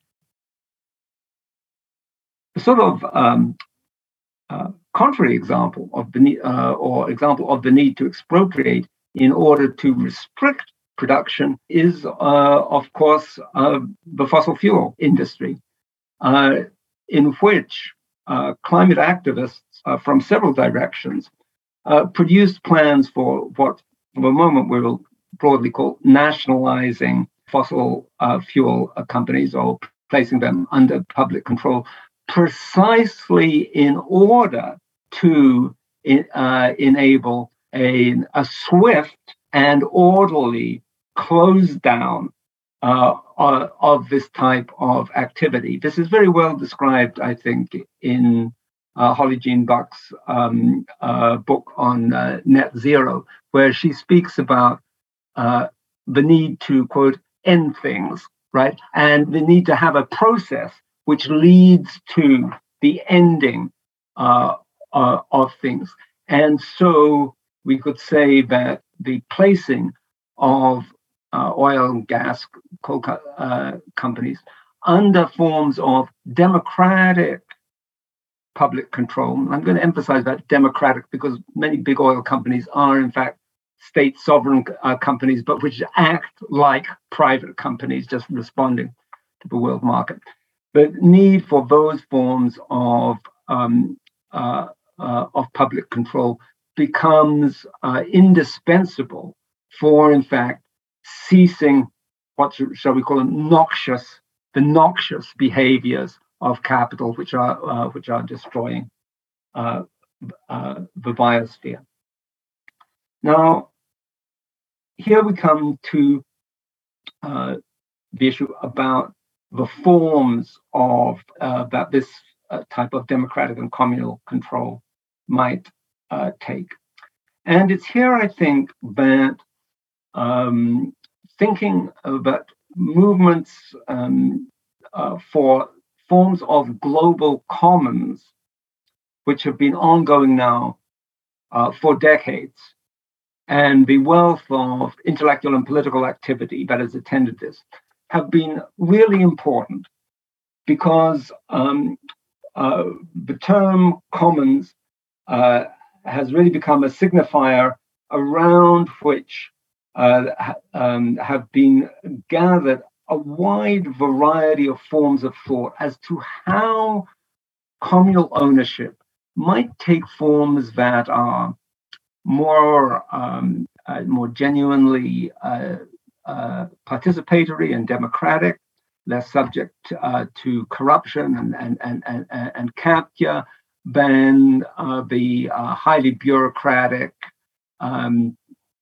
The sort of um, uh, contrary example of the need, uh, or example of the need to expropriate in order to restrict production is, uh, of course, uh, the fossil fuel industry, uh, in which uh, climate activists uh, from several directions uh, produced plans for what, for the moment, we will broadly call nationalizing fossil uh, fuel uh, companies, or placing them under public control, precisely in order to uh, enable a, a swift and orderly close down uh, uh, of this type of activity. This is very well described, I think, in uh, Holly Jean Buck's um, uh, book on uh, net zero, where she speaks about uh, the need to, quote, end things, right? And the need to have a process which leads to the ending uh, uh, of things. And so we could say that the placing of uh, oil and gas coal co- uh, companies under forms of democratic public control. I'm going to emphasize that democratic, because many big oil companies are, in fact, state sovereign uh, companies, but which act like private companies, just responding to the world market. The need for those forms of um, uh, uh, of public control becomes uh, indispensable for, in fact, ceasing what shall we call them noxious, the noxious behaviors of capital, which are uh, which are destroying uh, uh, the biosphere. Now, here we come to uh, the issue about the forms of uh, that this uh, type of democratic and communal control might uh, take. And it's here, I think, that um, thinking about movements um, uh, for forms of global commons, which have been ongoing now uh, for decades, and the wealth of intellectual and political activity that has attended this, have been really important because um, uh, the term commons uh, has really become a signifier around which uh, um, have been gathered a wide variety of forms of thought as to how communal ownership might take forms that are more um, uh, more genuinely uh, uh, participatory and democratic, less subject uh, to corruption and and and and, and capture than uh, the uh, highly bureaucratic um,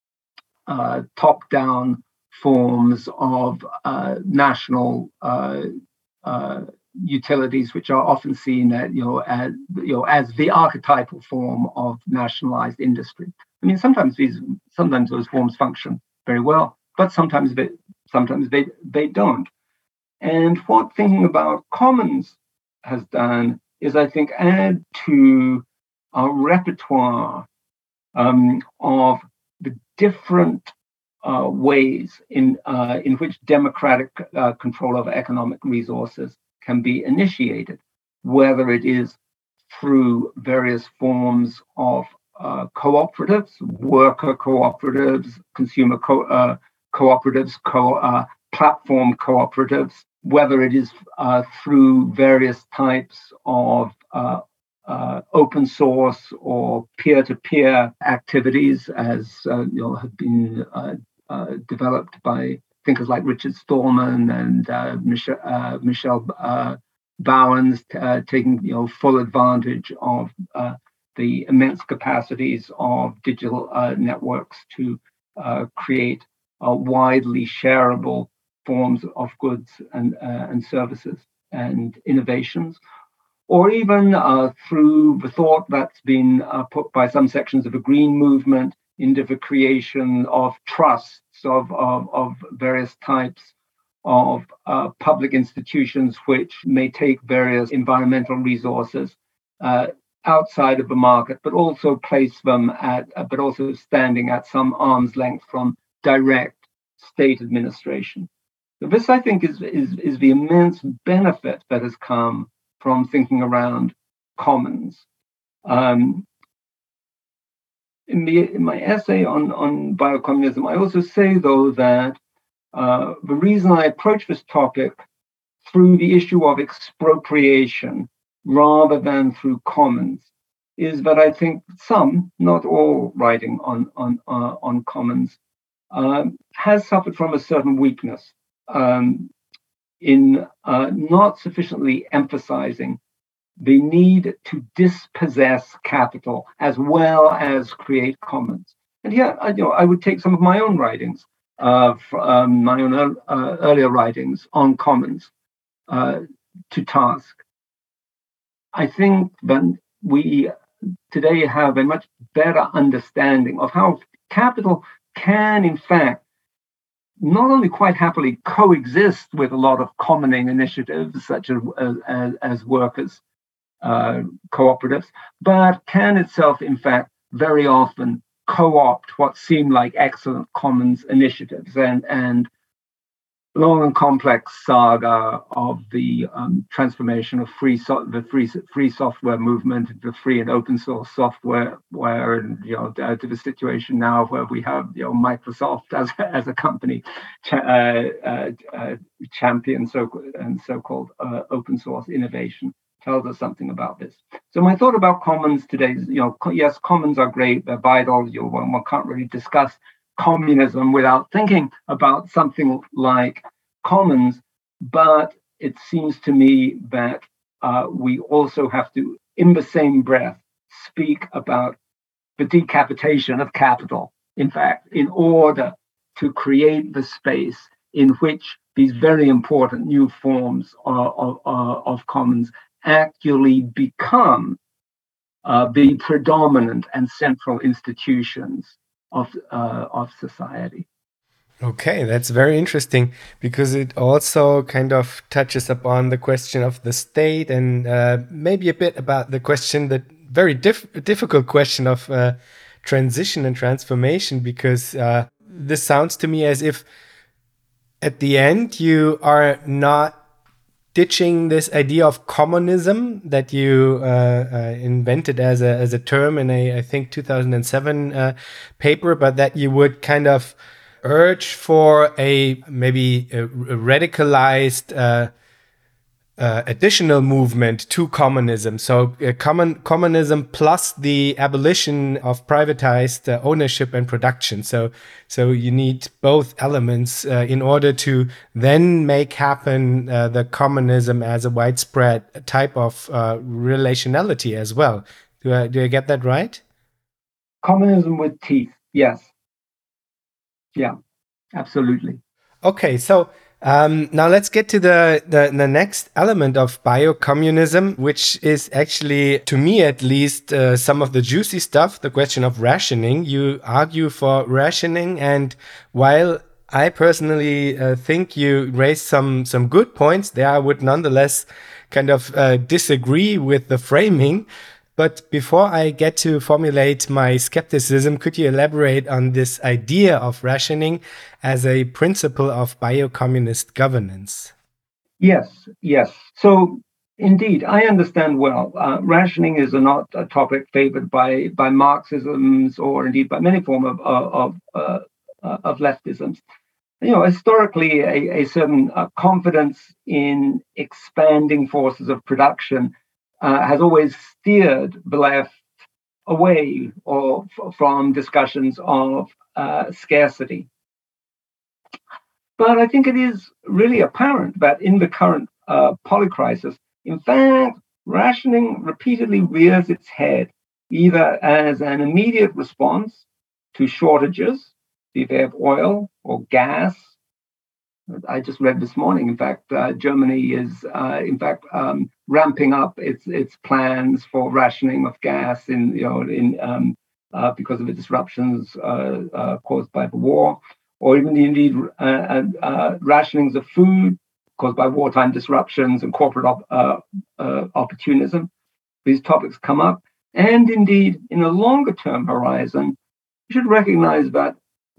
uh, top-down forms of uh, national uh, uh, utilities, which are often seen at, you know, as, you know, as the archetypal form of nationalized industry. I mean, sometimes these, sometimes those forms function very well, but sometimes they, sometimes they, they don't. And what thinking about commons has done is, I think, add to our repertoire um, of the different uh, ways in uh, in which democratic uh, control over economic resources can be initiated, whether it is through various forms of uh, cooperatives, worker cooperatives, consumer co- uh, cooperatives, co- uh, platform cooperatives, whether it is uh, through various types of uh, uh, open source or peer-to-peer activities, as uh, you know, have been uh, uh, developed by thinkers like Richard Stallman and uh, Michelle, uh, Michelle uh, Bowens, uh, taking you know full advantage of uh, the immense capacities of digital uh, networks to uh, create uh, widely shareable forms of goods and uh, and services and innovations, or even uh, through the thought that's been uh, put by some sections of the green movement into the creation of trusts of, of, of various types of uh, public institutions which may take various environmental resources uh, outside of the market, but also place them at, uh, but also standing at some arm's length from direct state administration. So this, I think, is, is, is the immense benefit that has come from thinking around commons. Um, in, the, in my essay on, on biocommunism, I also say, though, that uh, the reason I approach this topic through the issue of expropriation rather than through commons is that I think some, not all, writing on, on, uh, on commons um, has suffered from a certain weakness um, in uh, not sufficiently emphasizing the need to dispossess capital as well as create commons. And here, I, you know, I would take some of my own writings, uh, um, my own uh, earlier writings on commons uh, to task. I think that we today have a much better understanding of how capital can, in fact, not only quite happily coexist with a lot of commoning initiatives, such as, as, as workers' uh, cooperatives, but can itself, in fact, very often co-opt what seem like excellent commons initiatives. And, and long and complex saga of the um, transformation of free so- the free free software movement, the free and open source software, where and you know uh, to the situation now where we have you know Microsoft as as a company cha- uh, uh, uh, champion so and so-called uh, open source innovation tells us something about this. So my thought about commons today is, you know, co- yes, commons are great, they're vital. You know, one, one can't really discuss communism without thinking about something like commons, but it seems to me that uh, we also have to, in the same breath, speak about the decapitation of capital, in fact, in order to create the space in which these very important new forms of, of, of commons actually become uh, the predominant and central institutions of uh, of society. Okay, that's very interesting because it also kind of touches upon the question of the state and uh, maybe a bit about the question, the very diff difficult question of uh, transition and transformation, because uh, this sounds to me as if at the end you are not ditching this idea of communism that you uh, uh, invented as a as a term in a I think two thousand seven uh, paper, but that you would kind of urge for a maybe a radicalized uh, uh, additional movement to communism. So uh, common communism plus the abolition of privatized uh, ownership and production. So so you need both elements uh, in order to then make happen uh, the communism as a widespread type of uh, relationality as well. Do I, do I get that right? Communism with teeth, yes. Yeah, absolutely. Okay, so um, now let's get to the, the, the next element of biocommunism, which is actually, to me at least, uh, some of the juicy stuff, the question of rationing. You argue for rationing, and while I personally uh, think you raised some, some good points there, I would nonetheless kind of uh, disagree with the framing. But before I get to formulate my skepticism, could you elaborate on this idea of rationing as a principle of biocommunist governance? Yes, yes. So indeed, I understand well. Uh, rationing is a not a topic favored by by Marxisms or indeed by many form of of uh, uh, of leftisms. You know, historically, a, a certain uh, confidence in expanding forces of production uh, has always steered the left away or f- from discussions of uh, scarcity. But I think it is really apparent that in the current uh, polycrisis, in fact, rationing repeatedly rears its head, either as an immediate response to shortages, be they of oil or gas. I just read this morning, in fact, uh, Germany is, uh, in fact, um, ramping up its its plans for rationing of gas in, you know, in um, uh, because of the disruptions uh, uh, caused by the war, or even indeed uh, uh, rationings of food caused by wartime disruptions and corporate op- uh, uh, opportunism. These topics come up, and indeed, in a longer term horizon, you should recognize that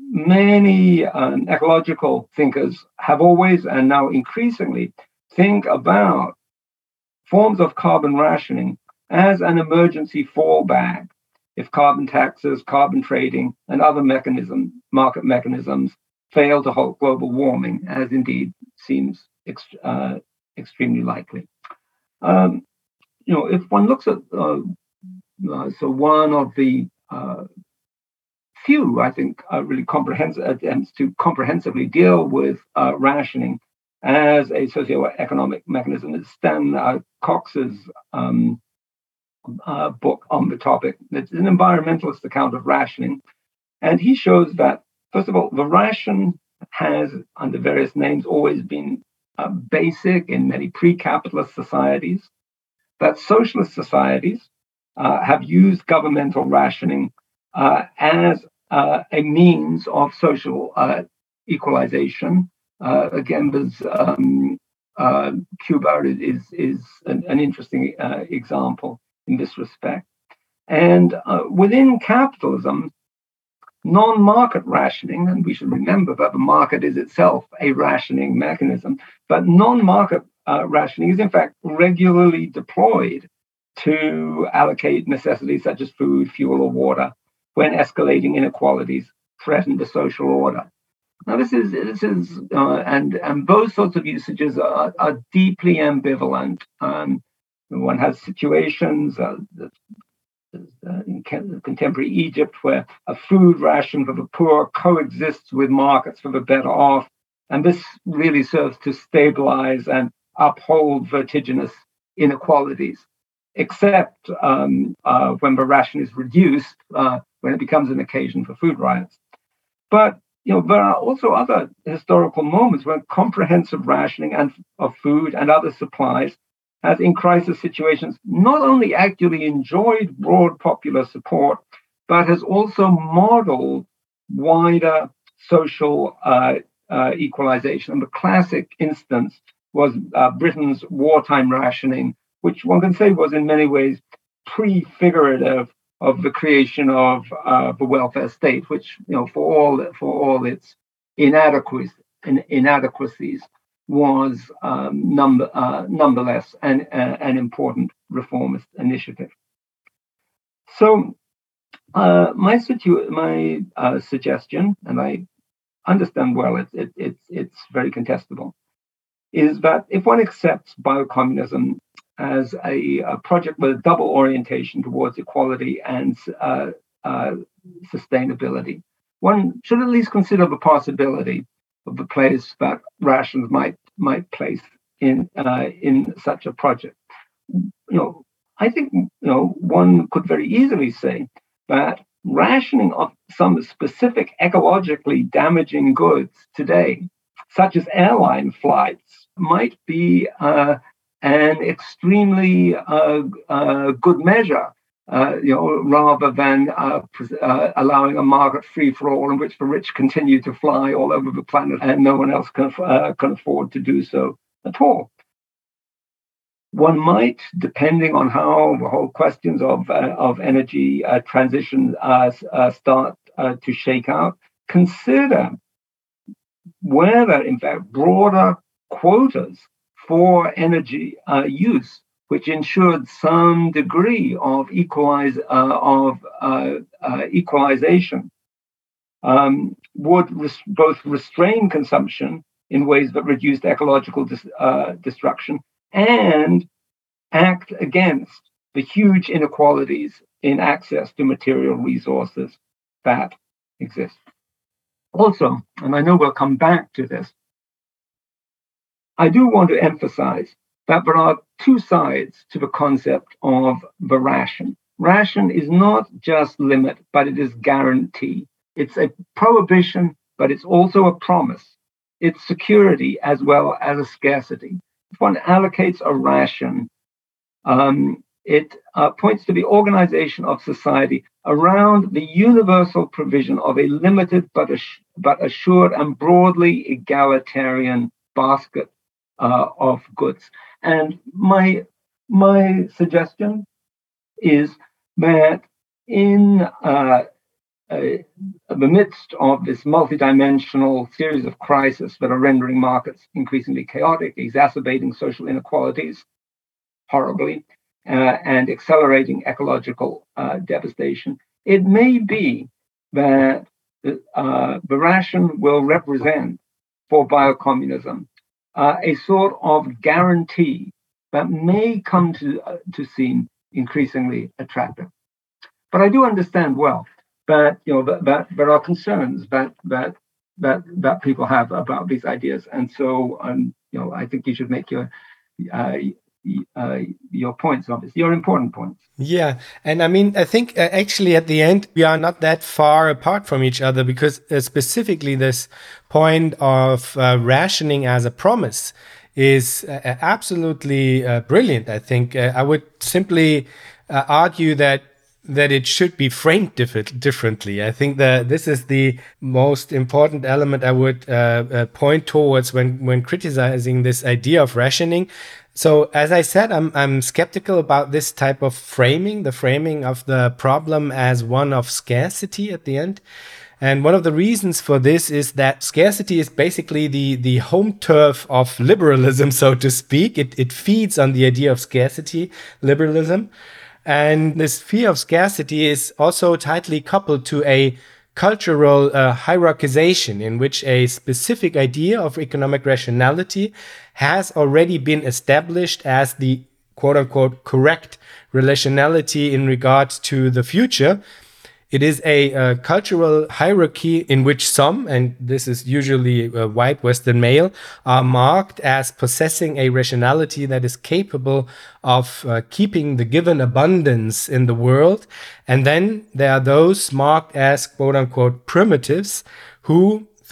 many um, ecological thinkers have always and now increasingly think about forms of carbon rationing as an emergency fallback if carbon taxes, carbon trading, and other mechanism, market mechanisms fail to halt global warming, as indeed seems ex- uh, extremely likely. Um, you know, if one looks at uh, uh, so one of the uh, few, I think, uh, really comprehensive attempts to comprehensively deal with uh, rationing as a socioeconomic mechanism is Stan uh, Cox's um, uh, book on the topic. It's an environmentalist account of rationing, and he shows that, first of all, the ration has, under various names, always been uh, basic in many pre-capitalist societies, that socialist societies uh, have used governmental rationing uh, as uh, a means of social uh, equalization. Uh, again, there's um, uh, Cuba is is an, an interesting uh, example in this respect. And uh, within capitalism, non-market rationing, and we should remember that the market is itself a rationing mechanism, but non-market uh, rationing is in fact regularly deployed to allocate necessities such as food, fuel, or water when escalating inequalities threaten the social order. Now, this is this is uh, and and those sorts of usages are, are deeply ambivalent. Um, one has situations uh, that uh, in contemporary Egypt, where a food ration for the poor coexists with markets for the better off. And this really serves to stabilize and uphold vertiginous inequalities, except um, uh, when the ration is reduced, uh, when it becomes an occasion for food riots. But you know, there are also other historical moments when comprehensive rationing and, of food and other supplies has in crisis situations not only actually enjoyed broad popular support, but has also modeled wider social uh, uh, equalization. And the classic instance was uh, Britain's wartime rationing, which one can say was in many ways prefigurative of the creation of uh, the welfare state, which, you know, for all for all its inadequacies, in, inadequacies was um, number, uh, nonetheless an, uh, an important reformist initiative. So uh, my situ- my uh, suggestion, and I understand well it's it, it's it's very contestable, is that if one accepts biocommunism as a, a project with a double orientation towards equality and uh, uh, sustainability, one should at least consider the possibility of the place that rations might might place in uh, in such a project. You know, I think you know one could very easily say that rationing of some specific ecologically damaging goods today, such as airline flights, might be uh, an extremely uh, uh, good measure. Uh, you know, rather than uh, uh, allowing a market free for all in which the rich continue to fly all over the planet and no one else can uh, can afford to do so at all. One might, depending on how the whole questions of uh, of energy uh, transition uh, uh, start uh, to shake out, consider whether, in fact, broader quotas for energy uh, use, which ensured some degree of equalize uh, of uh, uh, equalization, um, would res- both restrain consumption in ways that reduced ecological dis- uh, destruction and act against the huge inequalities in access to material resources that exist. Also, and I know we'll come back to this, I do want to emphasize that there are two sides to the concept of the ration. Ration is not just limit, but it is guarantee. It's a prohibition, but it's also a promise. It's security as well as a scarcity. If one allocates a ration, um, it uh, points to the organization of society around the universal provision of a limited but, ass- but assured and broadly egalitarian basket uh, of goods. And my my suggestion is that in uh, uh, the midst of this multidimensional series of crises that are rendering markets increasingly chaotic, exacerbating social inequalities horribly, uh, and accelerating ecological uh, devastation, it may be that uh, the ration will represent for biocommunism uh, a sort of guarantee that may come to uh, to seem increasingly attractive. But I do understand well that you know that, that there are concerns that that that that people have about these ideas, and so um, you know I think you should make your uh, uh, your points, obviously, your important points. Yeah. And I mean, I think uh, actually at the end, we are not that far apart from each other, because uh, specifically this point of uh, rationing as a promise is uh, absolutely uh, brilliant. I think uh, I would simply uh, argue that that it should be framed diff- differently. I think that this is the most important element I would uh, uh, point towards when, when criticizing this idea of rationing. So, as I said, I'm I'm skeptical about this type of framing, the framing of the problem as one of scarcity at the end. And one of the reasons for this is that scarcity is basically the, the home turf of liberalism, so to speak. It, it feeds on the idea of scarcity, liberalism. And this fear of scarcity is also tightly coupled to a cultural uh, hierarchization in which a specific idea of economic rationality has already been established as the quote-unquote correct relationality in regards to the future. It is a uh, cultural hierarchy in which some, and this is usually a white Western male, are marked as possessing a rationality that is capable of uh, keeping the given abundance in the world. And then there are those marked as quote unquote primitives who,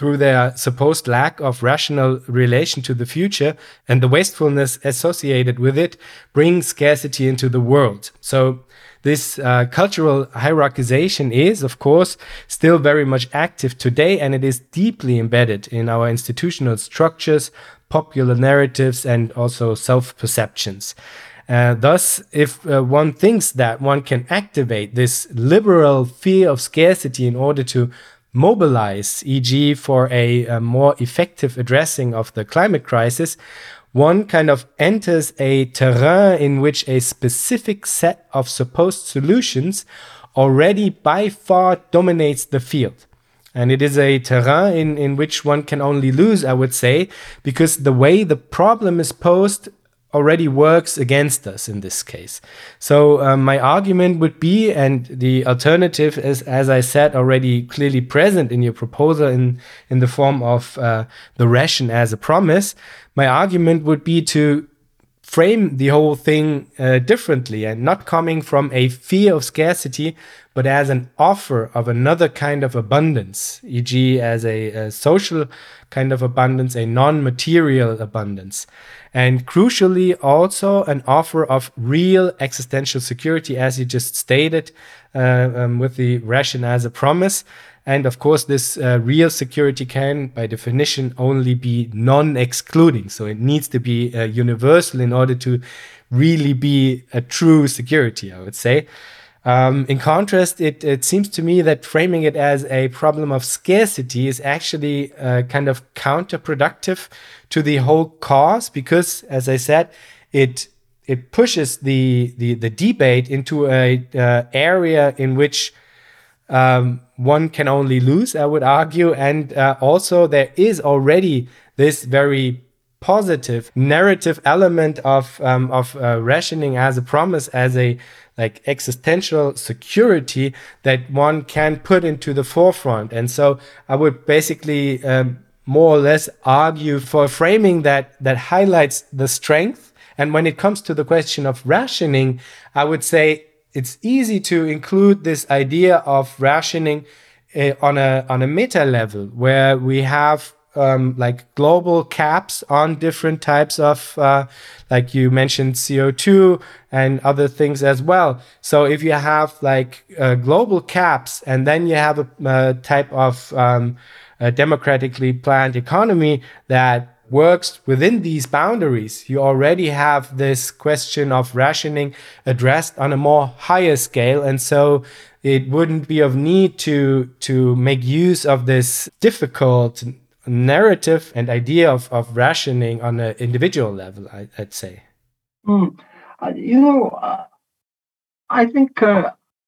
through their supposed lack of rational relation to the future and the wastefulness associated with it, bring scarcity into the world. So this uh, cultural hierarchization is, of course, still very much active today, and it is deeply embedded in our institutional structures, popular narratives, and also self-perceptions. Uh, thus, if uh, one thinks that one can activate this liberal fear of scarcity in order to mobilize, for example, for a, a more effective addressing of the climate crisis, one kind of enters a terrain in which a specific set of supposed solutions already by far dominates the field. And it is a terrain in, in which one can only lose, I would say, because the way the problem is posed already works against us in this case. So um, my argument would be, and the alternative is, as I said, already clearly present in your proposal in, in the form of uh, the ration as a promise, my argument would be to frame the whole thing uh, differently and not coming from a fear of scarcity, but as an offer of another kind of abundance, for example as a, a social kind of abundance, a non-material abundance. And crucially, also an offer of real existential security, as you just stated, uh, um, with the ration as a promise. And of course, this uh, real security can, by definition, only be non-excluding. So it needs to be uh, universal in order to really be a true security, I would say. Um, in contrast, it, it seems to me that framing it as a problem of scarcity is actually uh, kind of counterproductive to the whole cause, because, as I said, it it pushes the the, the debate into a uh, area in which um, one can only lose, I would argue, and uh, also there is already this very positive narrative element of um, of uh, rationing as a promise, as a like existential security that one can put into the forefront. And so I would basically um, more or less argue for framing that that highlights the strength. And when it comes to the question of rationing, I would say it's easy to include this idea of rationing uh, on a on a meta level, where we have Um, like global caps on different types of, uh, like you mentioned, C O two and other things as well. So if you have like uh, global caps, and then you have a, a type of um, a democratically planned economy that works within these boundaries, you already have this question of rationing addressed on a more higher scale. And so it wouldn't be of need to to make use of this difficult narrative and idea of, of rationing on an individual level, I, I'd say. Mm. Uh, you know, uh, I think uh,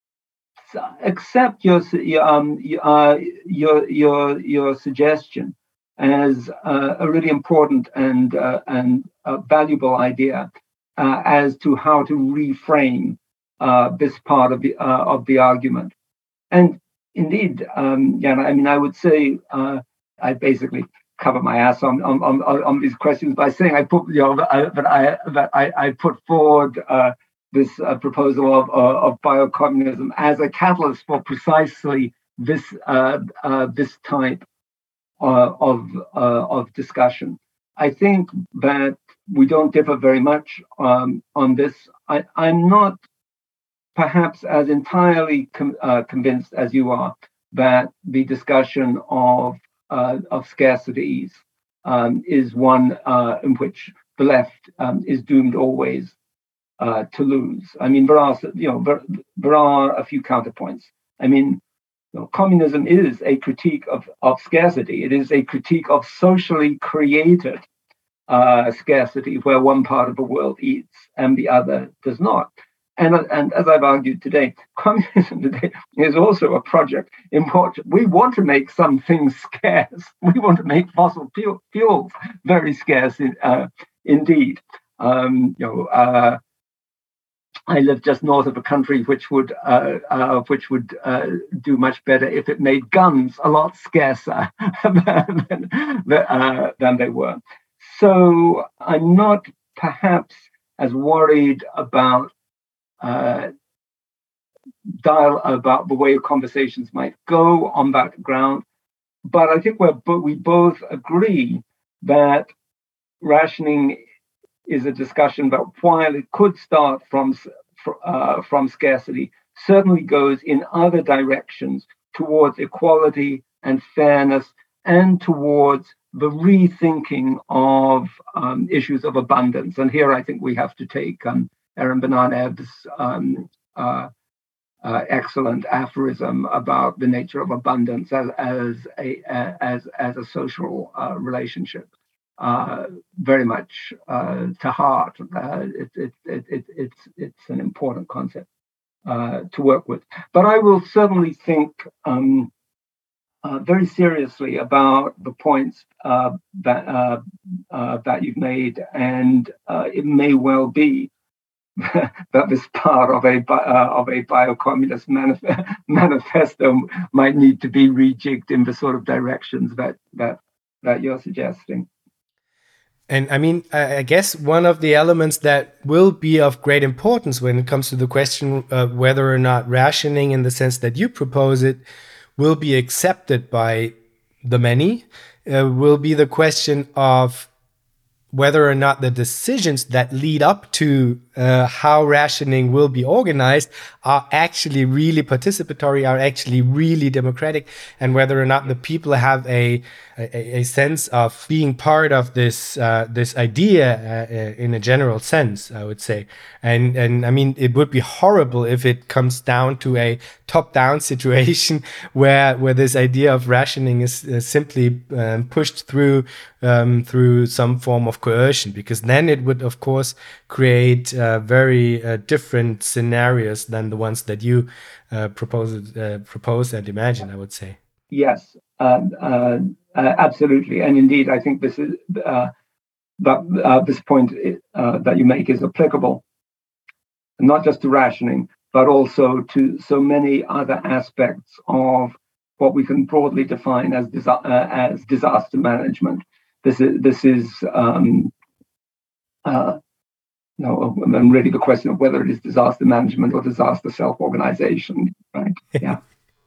accept your um uh, your your your suggestion as uh, a really important and uh, and uh, valuable idea uh, as to how to reframe uh, this part of the uh, of the argument. And indeed, um, yeah, I mean, I would say. Uh, I basically cover my ass on on, on, on these questions by saying I put you know that I that I, I put forward uh, this uh, proposal of uh, of biocommunism as a catalyst for precisely this uh, uh, this type uh, of uh, of discussion. I think that we don't differ very much um, on this. I, I'm not perhaps as entirely com- uh, convinced as you are that the discussion of Uh, of scarcities um, is one uh, in which the left um, is doomed always uh, to lose. I mean, there are you know there, there are a few counterpoints. I mean, you know, communism is a critique of, of scarcity. It is a critique of socially created uh, scarcity, where one part of the world eats and the other does not. And, and as I've argued today, communism today is also a project in which we want to make some things scarce. We want to make fossil fuel, fuels very scarce in, uh, indeed. Um, you know, uh, I live just north of a country which would uh, uh, which would uh, do much better if it made guns a lot scarcer than, uh, than they were. So I'm not perhaps as worried about Uh, dial about the way conversations might go on that ground. but I think we're but we both agree that rationing is a discussion that, while it could start from uh, from scarcity, certainly goes in other directions towards equality and fairness, and towards the rethinking of um, issues of abundance. And here I think we have to take um, Aaron Benanev's um, uh, uh, excellent aphorism about the nature of abundance as as a as as a social uh, relationship uh, very much uh, to heart. Uh, it, it, it, it, it's it's an important concept uh, to work with. But I will certainly think um, uh, very seriously about the points uh, that uh, uh, that you've made, and uh, it may well be that this part of a uh, of a biocommunist manif- manifesto might need to be rejigged in the sort of directions that that that you're suggesting. And I mean, I guess one of the elements that will be of great importance when it comes to the question of whether or not rationing, in the sense that you propose it, will be accepted by the many, uh, will be the question of whether or not the decisions that lead up to uh, how rationing will be organized are actually really participatory, are actually really democratic, and whether or not the people have a a, a sense of being part of this uh, this idea uh, in a general sense, I would say. And and I mean, it would be horrible if it comes down to a top-down situation where where this idea of rationing is uh, simply um, pushed through um, through some form of coercion, because then it would, of course, create uh, very uh, different scenarios than the ones that you uh, propose uh, propose and imagine, I would say. Yes, uh, uh, uh, absolutely, and indeed, I think this is uh, that uh, this point uh, that you make is applicable not just to rationing, but also to so many other aspects of what we can broadly define as disa- uh, as disaster management. This is this is um, uh, no, and really the question of whether it is disaster management or disaster self-organization, right? Yeah.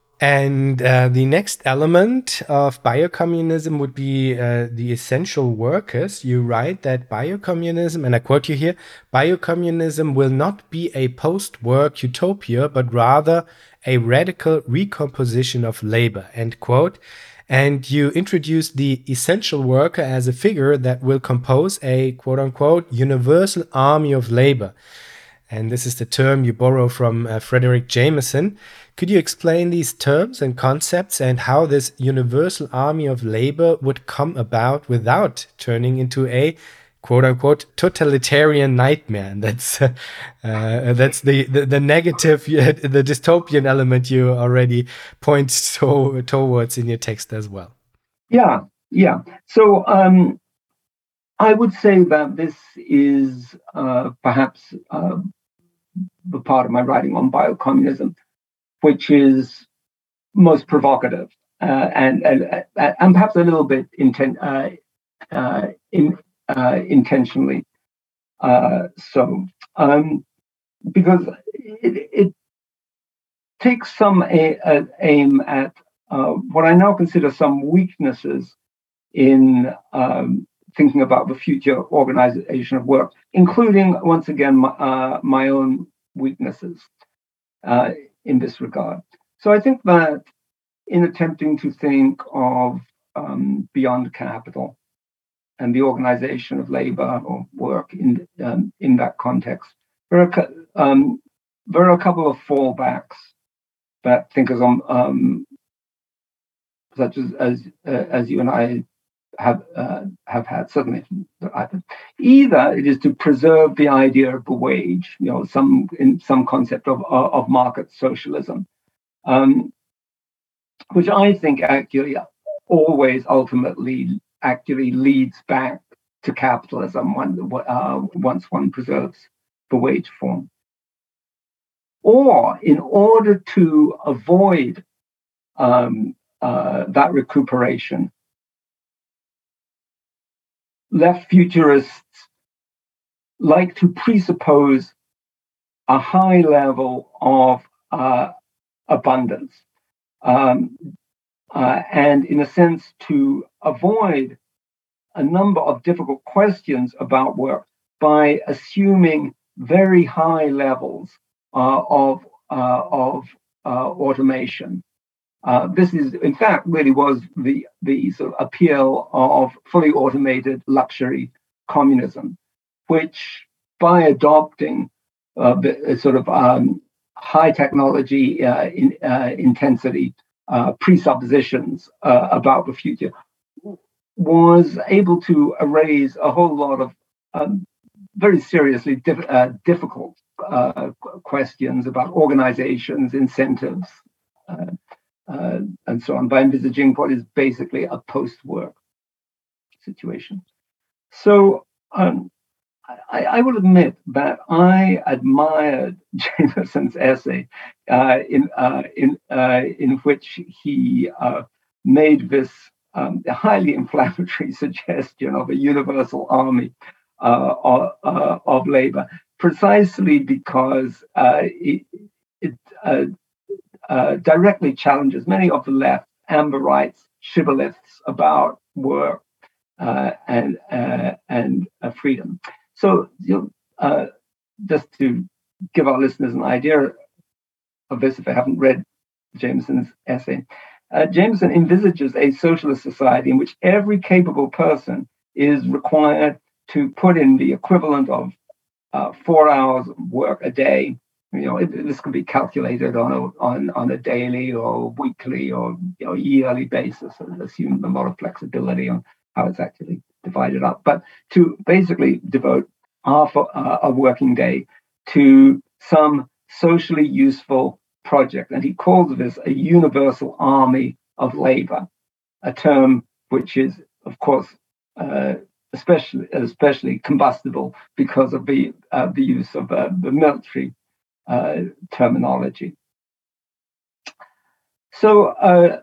And uh, the next element of biocommunism would be uh, the essential workers. You write that biocommunism, and I quote you here, biocommunism will not be a post-work utopia, but rather a radical recomposition of labor, end quote. And you introduce the essential worker as a figure that will compose a quote unquote universal army of labor. And this is the term you borrow from uh, Frederick Jameson. Could you explain these terms and concepts and how this universal army of labor would come about without turning into a quote unquote totalitarian nightmare? And that's uh, uh, that's the, the the negative, the dystopian element you already point to, towards in your text as well. Yeah, yeah. So um, I would say that this is uh, perhaps uh, the part of my writing on biocommunism, which is most provocative uh, and, and and perhaps a little bit inten- uh, uh, in, uh, intentionally uh, so, um, because it, it takes some a, a aim at uh, what I now consider some weaknesses in um, thinking about the future organization of work, including, once again, my, uh, my own weaknesses uh, in this regard. So I think that in attempting to think of um, beyond capital and the organization of labor or work in um, in that context, there are um, there are a couple of fallbacks that thinkers on um, such as as uh, as you and I have uh, have had certainly. Either it is to preserve the idea of the wage, you know, some in some concept of of market socialism, um, which I think actually always ultimately actually leads back to capitalism when, uh, once one preserves the wage form. Or in order to avoid um, uh, that recuperation, left futurists like to presuppose a high level of uh, abundance. Um, uh, and in a sense to avoid a number of difficult questions about work by assuming very high levels uh, of, uh, of uh, automation. Uh, this is, in fact, really was the, the sort of appeal of fully automated luxury communism, which by adopting uh, the sort of um, high technology uh, in, uh, intensity uh, presuppositions uh, about the future, was able to erase a whole lot of um, very seriously diff- uh, difficult uh, questions about organizations, incentives, uh, uh, and so on, by envisaging what is basically a post-work situation. So um, I, I will admit that I admired Jameson's essay uh, in uh, in uh, in which he uh, made this um, highly inflammatory suggestion of a universal army uh, of, uh, of labor, precisely because uh, it, it uh, uh, directly challenges many of the left amber rights shibboleths about work uh, and uh, and uh, freedom. So, you know, uh, just to give our listeners an idea of this, if they haven't read Jameson's essay, uh, Jameson envisages a socialist society in which every capable person is required to put in the equivalent of uh, four hours of work a day. You know, it, this can be calculated on a on on a daily or weekly or you know yearly basis, and assume a lot of flexibility on how it's actually divided up. But to basically devote half a, a working day to some socially useful project, and he calls this a universal army of labor, a term which is, of course, uh, especially especially combustible because of the uh, the use of uh, the military uh, terminology. So uh,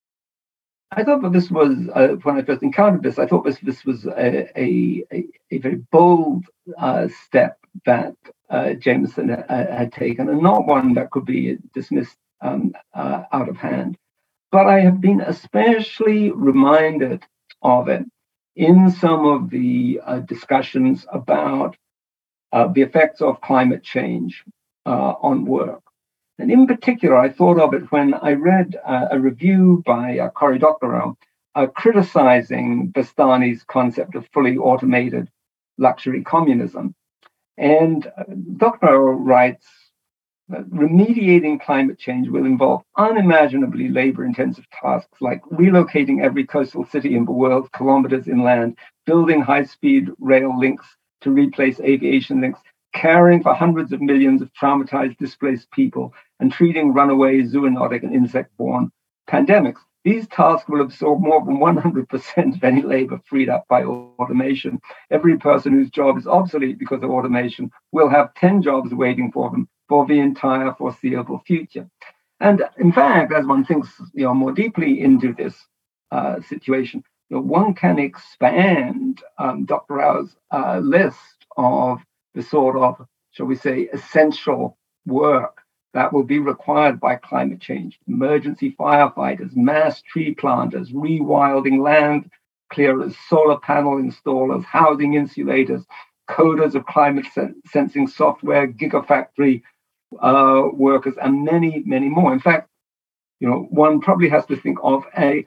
I thought that this was uh, when I first encountered this. I thought this this was a a, a very bold uh, step that uh, Jameson uh, had taken, and not one that could be dismissed um, uh, out of hand. But I have been especially reminded of it in some of the uh, discussions about uh, the effects of climate change uh, on work. And in particular, I thought of it when I read uh, a review by uh, Cory Doctorow uh, criticizing Bastani's concept of fully automated luxury communism. And uh, Doctorow writes, remediating climate change will involve unimaginably labor-intensive tasks like relocating every coastal city in the world kilometers inland, building high-speed rail links to replace aviation links, caring for hundreds of millions of traumatized, displaced people, and treating runaway zoonotic and insect-borne pandemics. These tasks will absorb more than one hundred percent of any labor freed up by automation. Every person whose job is obsolete because of automation will have ten jobs waiting for them for the entire foreseeable future. And in fact, as one thinks you know, more deeply into this uh, situation, you know, one can expand um, Doctor Rao's uh, list of the sort of, shall we say, essential work that will be required by climate change. Emergency firefighters, mass tree planters, rewilding land clearers, solar panel installers, housing insulators, coders of climate sen- sensing software, gigafactory uh, workers, and many, many more. In fact, you know, one probably has to think of a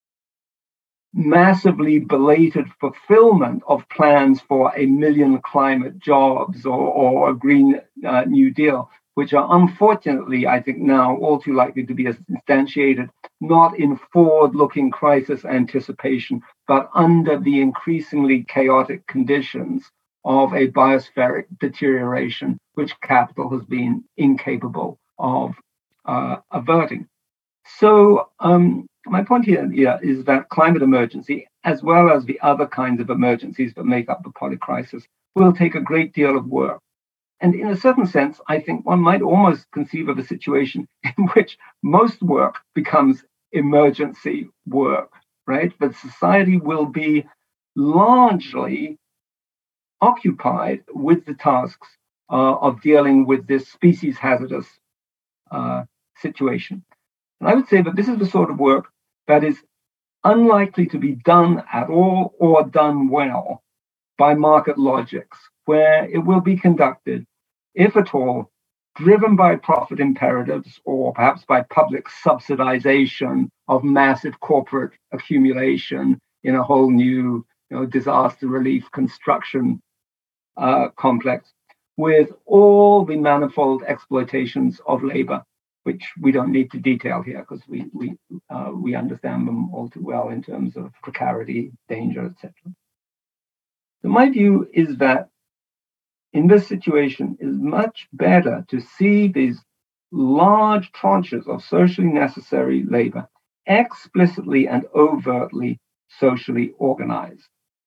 massively belated fulfillment of plans for a million climate jobs or, or a Green uh, New Deal, which are unfortunately, I think now, all too likely to be instantiated, not in forward-looking crisis anticipation, but under the increasingly chaotic conditions of a biospheric deterioration, which capital has been incapable of uh, averting. So um, my point here, here is that climate emergency, as well as the other kinds of emergencies that make up the polycrisis, will take a great deal of work. And in a certain sense, I think one might almost conceive of a situation in which most work becomes emergency work, right? But society will be largely occupied with the tasks uh, of dealing with this species hazardous uh, situation. And I would say that this is the sort of work that is unlikely to be done at all or done well by market logics, where it will be conducted, if at all, driven by profit imperatives or perhaps by public subsidization of massive corporate accumulation in a whole new, you know, disaster relief construction uh, complex, with all the manifold exploitations of labor, which we don't need to detail here because we we uh, we understand them all too well in terms of precarity, danger, et cetera. So my view is that in this situation, it is much better to see these large tranches of socially necessary labor explicitly and overtly socially organized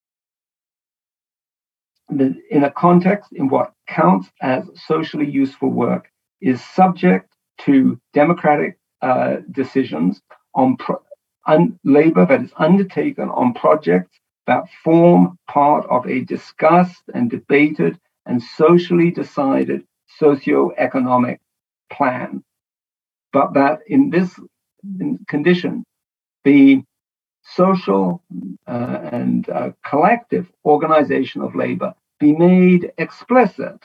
in a context in what counts as socially useful work is subject to democratic uh, decisions on pro- un- labor that is undertaken on projects that form part of a discussed and debated and socially decided socioeconomic plan. But that in this condition, the social uh, and uh, collective organization of labor be made explicit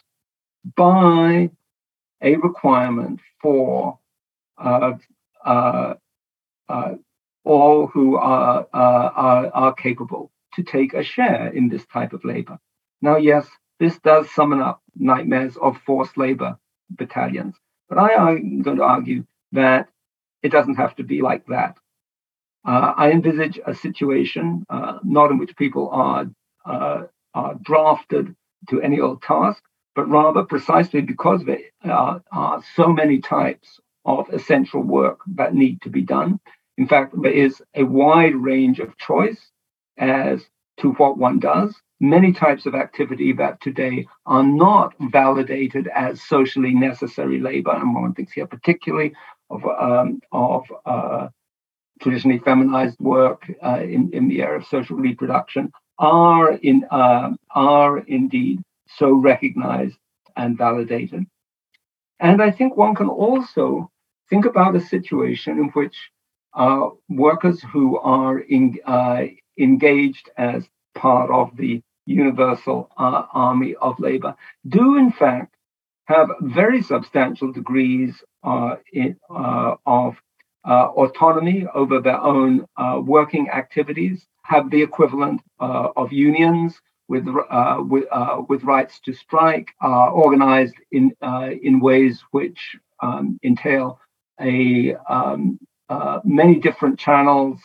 by a requirement for uh, uh, uh, all who are, uh, are, are capable to take a share in this type of labor. Now, yes, this does summon up nightmares of forced labor battalions, but I am going to argue that it doesn't have to be like that. Uh, I envisage a situation uh, not in which people are, uh, are drafted to any old task, but rather precisely because there are, are so many types of essential work that need to be done. In fact, there is a wide range of choice as to what one does. Many types of activity that today are not validated as socially necessary labor, and one thinks here particularly of um, of uh, traditionally feminized work uh, in, in the area of social reproduction, are in uh, are indeed so recognized and validated. And I think one can also think about a situation in which uh, workers who are in, uh, engaged as part of the universal uh, army of labor do in fact have very substantial degrees uh, in, uh, of uh, autonomy over their own uh, working activities, have the equivalent uh, of unions with uh, with, uh, with rights to strike, are organized in uh, in ways which um, entail a um, uh, many different channels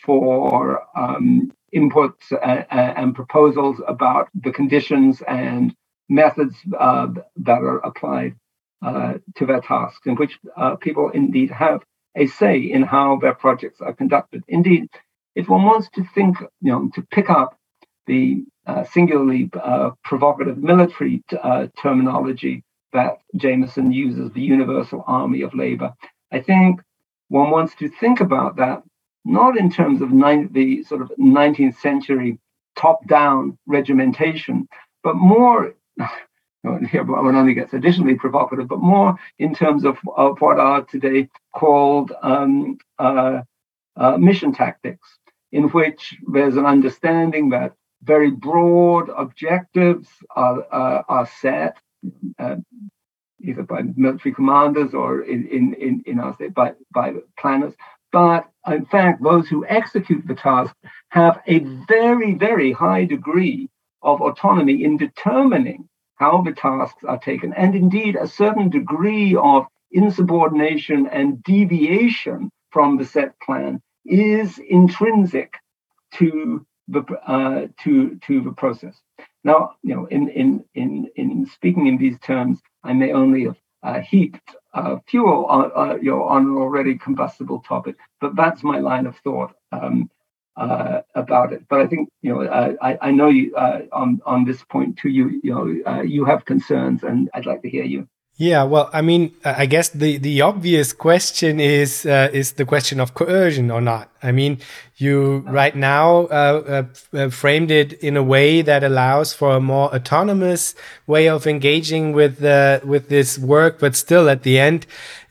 for um, inputs and, and proposals about the conditions and methods uh, that are applied uh, to their tasks, in which uh, people indeed have a say in how their projects are conducted. Indeed, if one wants to think, you know, to pick up the uh, singularly uh, provocative military t- uh, terminology that Jameson uses, the universal army of labor, I think one wants to think about that not in terms of nine, the sort of nineteenth century top-down regimentation, but more, here one only gets additionally provocative, but more in terms of, of what are today called um, uh, uh, mission tactics, in which there's an understanding that very broad objectives are, uh, are set, uh, either by military commanders or in, in, in, in our state by, by planners. But in fact, those who execute the task have a very, very high degree of autonomy in determining how the tasks are taken, and indeed a certain degree of insubordination and deviation from the set plan is intrinsic to the uh, to to the process. Now, you know, in in in in speaking in these terms, I may only have uh, heaped uh, fuel on, uh, you know, on an already combustible topic, but that's my line of thought um, uh, about it. But I think, you know, uh, I I know you uh, on on this point too. You you know uh, you have concerns, and I'd like to hear you. Yeah, well, I mean, I guess the, the obvious question is uh, is the question of coercion or not. I mean, you right now uh, uh, framed it in a way that allows for a more autonomous way of engaging with uh, with this work, but still, at the end, if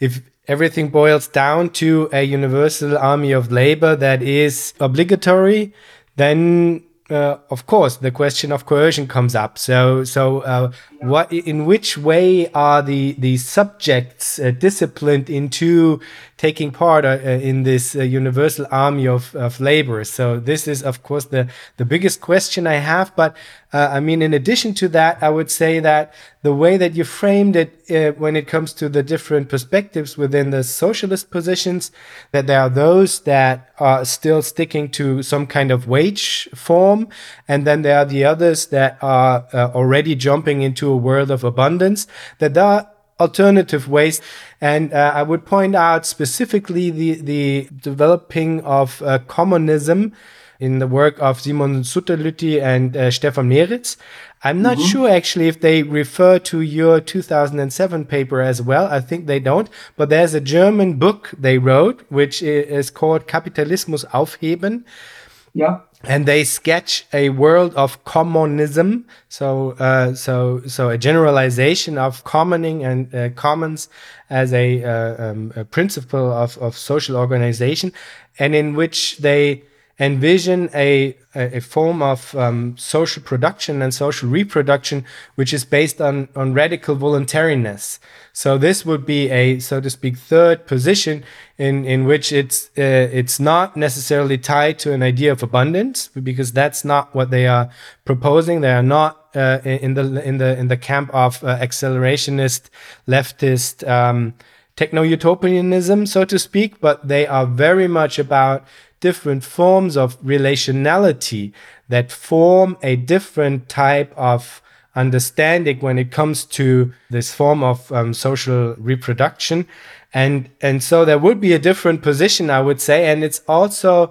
everything boils down to a universal army of labor that is obligatory, then uh, of course the question of coercion comes up. So, so uh, what, in which way are the the subjects uh, disciplined into taking part uh, in this uh, universal army of, of labor? So this is, of course, the the biggest question I have. But uh, I mean, in addition to that, I would say that the way that you framed it uh, when it comes to the different perspectives within the socialist positions, that there are those that are still sticking to some kind of wage form, and then there are the others that are uh, already jumping into a world of abundance, that there are alternative ways. And uh, I would point out specifically the, the developing of uh, commonism in the work of Simon Sutterlütti and uh, Stefan Meritz. I'm not mm-hmm. sure actually if they refer to your two thousand seven paper as well. I think they don't. But there's a German book they wrote, which is called Kapitalismus aufheben. Yeah. And they sketch a world of commonism, so uh, so so a generalization of commoning and uh, commons as a, uh, um, a principle of, of social organization, and in which they envision a a form of um, social production and social reproduction, which is based on on radical voluntariness. So this would be a, so to speak, third position in in which it's uh, it's not necessarily tied to an idea of abundance, because that's not what they are proposing. They are not uh, in the in the in the camp of uh, accelerationist leftist um, techno-utopianism, so to speak, but they are very much about different forms of relationality that form a different type of understanding when it comes to this form of um, social reproduction. And, and so there would be a different position, I would say. And it's also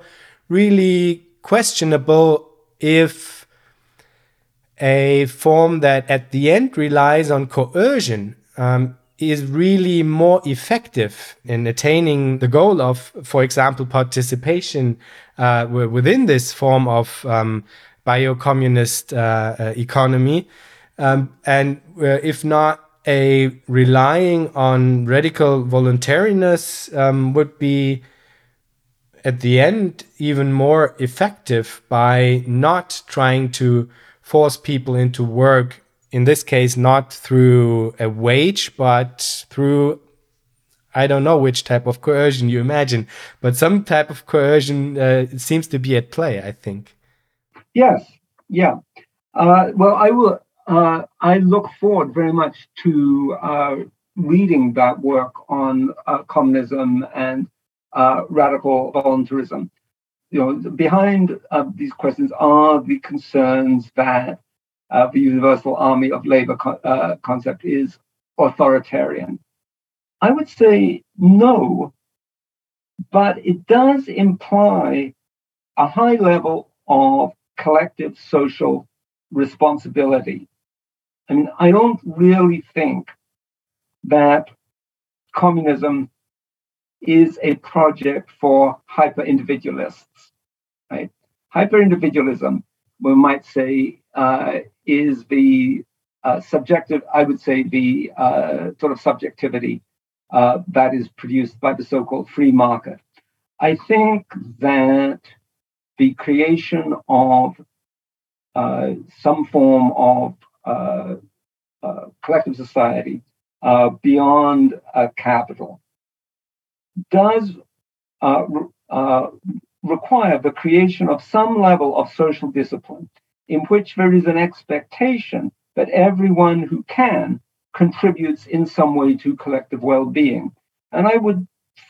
really questionable if a form that at the end relies on coercion um, is really more effective in attaining the goal of, for example, participation uh, within this form of um, bio-communist uh, uh, economy. Um, and uh, if not, a relying on radical voluntariness um, would be, at the end, even more effective by not trying to force people into work. In this case, not through a wage, but through, I don't know which type of coercion you imagine, but some type of coercion uh, seems to be at play, I think. Yes, yeah. Uh, well, I will. Uh, I look forward very much to uh, reading that work on uh, communism and uh, radical voluntarism. You know, behind uh, these questions are the concerns that Uh, the universal army of labor co- uh, concept is authoritarian. I would say no, but it does imply a high level of collective social responsibility. I mean, I don't really think that communism is a project for hyper-individualists, right? Hyper-individualism, we might say, uh, is the uh, subjective, I would say, the uh, sort of subjectivity uh, that is produced by the so-called free market. I think that the creation of uh, some form of uh, uh, collective society uh, beyond uh, capital does uh, uh, require the creation of some level of social discipline in which there is an expectation that everyone who can contributes in some way to collective well-being. And I would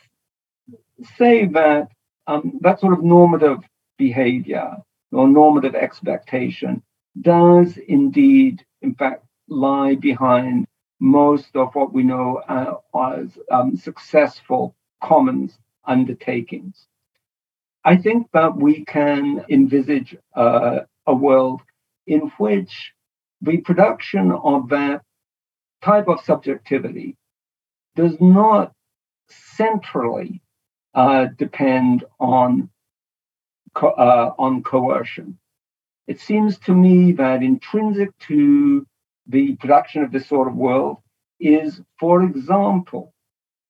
say that um, that sort of normative behavior or normative expectation does indeed, in fact, lie behind most of what we know uh, as um, successful commons undertakings. I think that we can envisage uh, a world in which the production of that type of subjectivity does not centrally uh, depend on co- uh, on coercion. It seems to me that intrinsic to the production of this sort of world is, for example,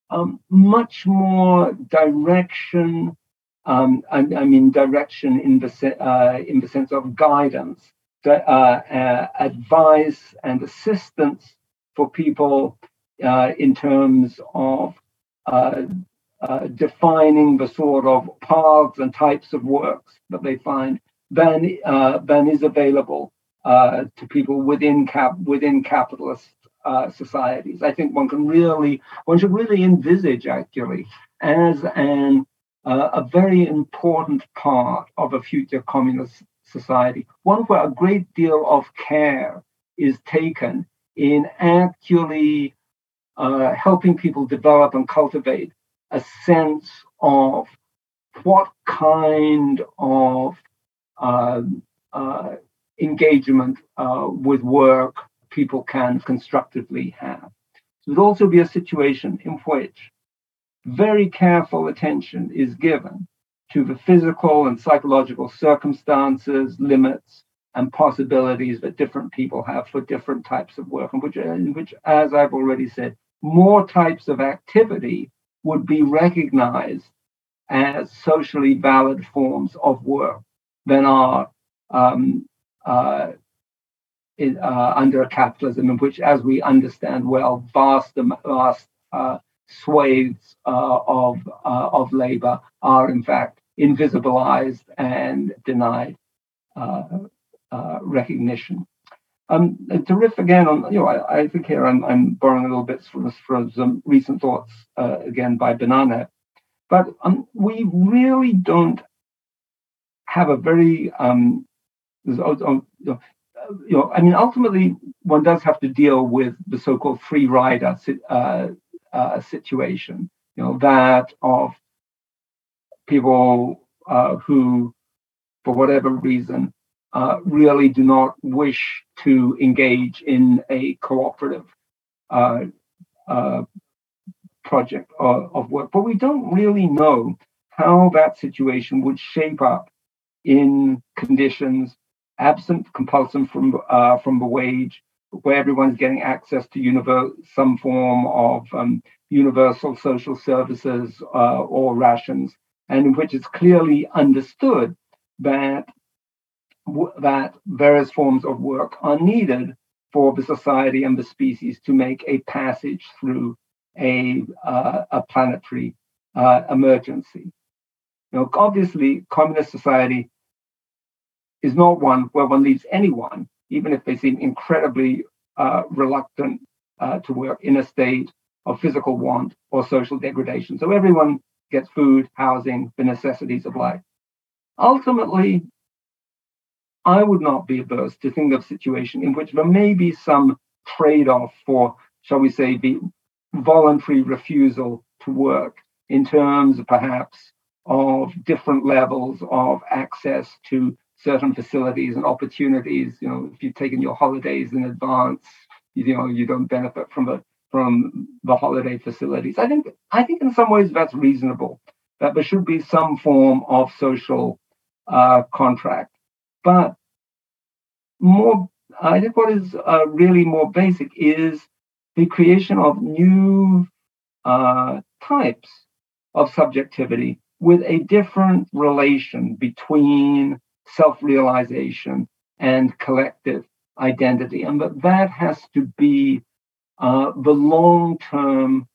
um, much more direction. Um, I, I mean, direction in the se- uh, in the sense of guidance, uh, uh, advice, and assistance for people uh, in terms of uh, uh, defining the sort of paths and types of works that they find than uh, than is available uh, to people within cap within capitalist uh, societies. I think one can really one should really envisage actually as an uh, a very important part of a future communist society, one where a great deal of care is taken in actually uh, helping people develop and cultivate a sense of what kind of uh, uh, engagement uh, with work people can constructively have. So there'd also be a situation in which very careful attention is given to the physical and psychological circumstances, limits, and possibilities that different people have for different types of work, and which, in which, as I've already said, more types of activity would be recognized as socially valid forms of work than are um, uh, in, uh, under a capitalism in which, as we understand well, vast, vast uh, swathes uh, of uh, of labor are in fact invisibilized and denied uh, uh, recognition. Um, to riff again on, you know, I, I think here I'm, I'm borrowing a little bit from, from some recent thoughts uh, again by Banana, but um, we really don't have a very um, you know, I mean, ultimately, one does have to deal with the so-called free rider uh, uh, situation. You know, that of people uh, who, for whatever reason, uh, really do not wish to engage in a cooperative uh, uh, project of, of work. But we don't really know how that situation would shape up in conditions absent compulsion from uh, from the wage, where everyone's getting access to univer- some form of um, universal social services uh, or rations, and in which it's clearly understood that w- that various forms of work are needed for the society and the species to make a passage through a uh, a planetary uh, emergency. You know, obviously, communist society is not one where one leaves anyone, even if they seem incredibly uh, reluctant uh, to work, in a state of physical want or social degradation. So everyone gets food, housing, the necessities of life. Ultimately, I would not be averse to think of a situation in which there may be some trade-off for, shall we say, the voluntary refusal to work in terms, perhaps, of different levels of access to certain facilities and opportunities. You know, if you've taken your holidays in advance, you know, you don't benefit from the from the holiday facilities. I think I think in some ways that's reasonable, that there should be some form of social uh, contract. But more, I think what is uh, really more basic is the creation of new uh, types of subjectivity with a different relation between self-realization and collective identity. And that that has to be uh, the long-term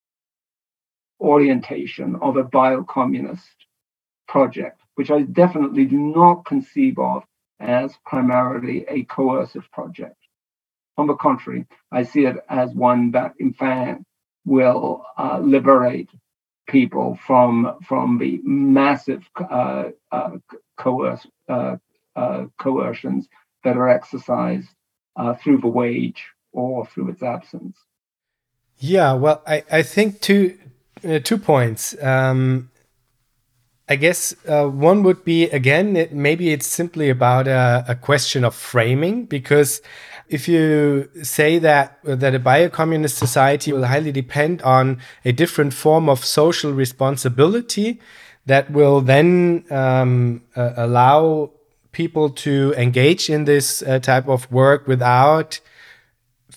orientation of a biocommunist project, which I definitely do not conceive of as primarily a coercive project. On the contrary, I see it as one that, in fact, will uh, liberate people from from the massive uh, uh, coerce, uh, uh, coercions that are exercised uh, through the wage or through its absence. Yeah, well, I, I think two uh, two points. Um, I guess uh, one would be, again, it, maybe it's simply about a, a question of framing, because if you say that that a biocommunist society will highly depend on a different form of social responsibility that will then um, uh, allow people to engage in this uh, type of work without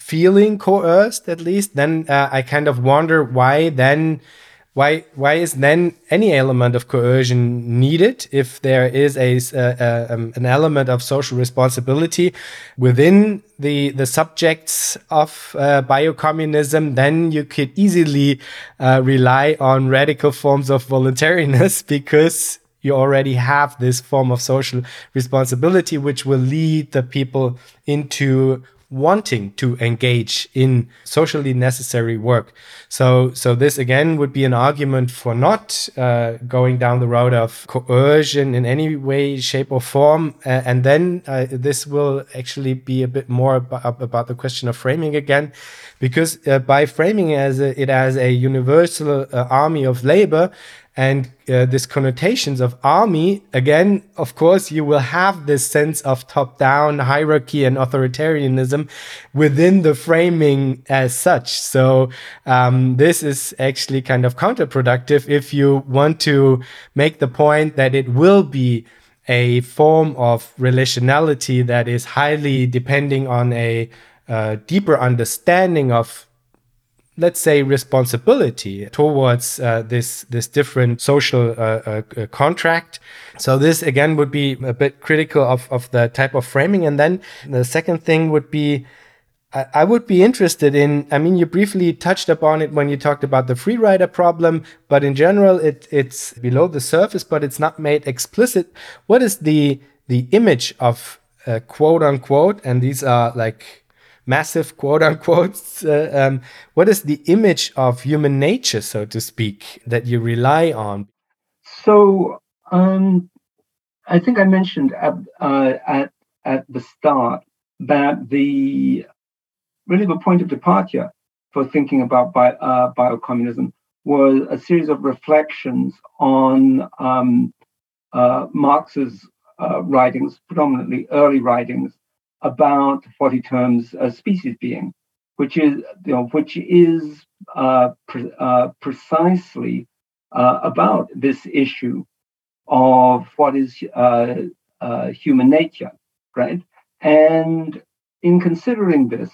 feeling coerced, at least, then uh, I kind of wonder why then why why is then any element of coercion needed if there is a, a, a um, an element of social responsibility within the the subjects of uh, biocommunism? Then you could easily uh, rely on radical forms of voluntariness, because you already have this form of social responsibility, which will lead the people into wanting to engage in socially necessary work. So, so this again would be an argument for not uh, going down the road of coercion in any way, shape, or form. Uh, and then uh, this will actually be a bit more about, about the question of framing again, because uh, by framing it as a, it as a universal uh, army of labor, and uh, these connotations of army, again, of course, you will have this sense of top-down hierarchy and authoritarianism within the framing as such. So um, this is actually kind of counterproductive if you want to make the point that it will be a form of relationality that is highly depending on a uh, deeper understanding of, let's say, responsibility towards uh, this this different social uh, uh, contract. So this again would be a bit critical of, of the type of framing. And then the second thing would be, I, I would be interested in, I mean, you briefly touched upon it when you talked about the free rider problem, but in general, it it's below the surface, but it's not made explicit. What is the the image of uh, quote unquote, and these are like massive quote unquote, uh, um, what is the image of human nature, so to speak, that you rely on? So um, I think I mentioned at, uh, at, at the start that the really the point of departure for thinking about bi- uh, biocommunism was a series of reflections on um, uh, Marx's uh, writings, predominantly early writings, about what he terms a species being, which is, you know, which is uh, pre- uh, precisely uh, about this issue of what is uh, uh, human nature, right? And in considering this,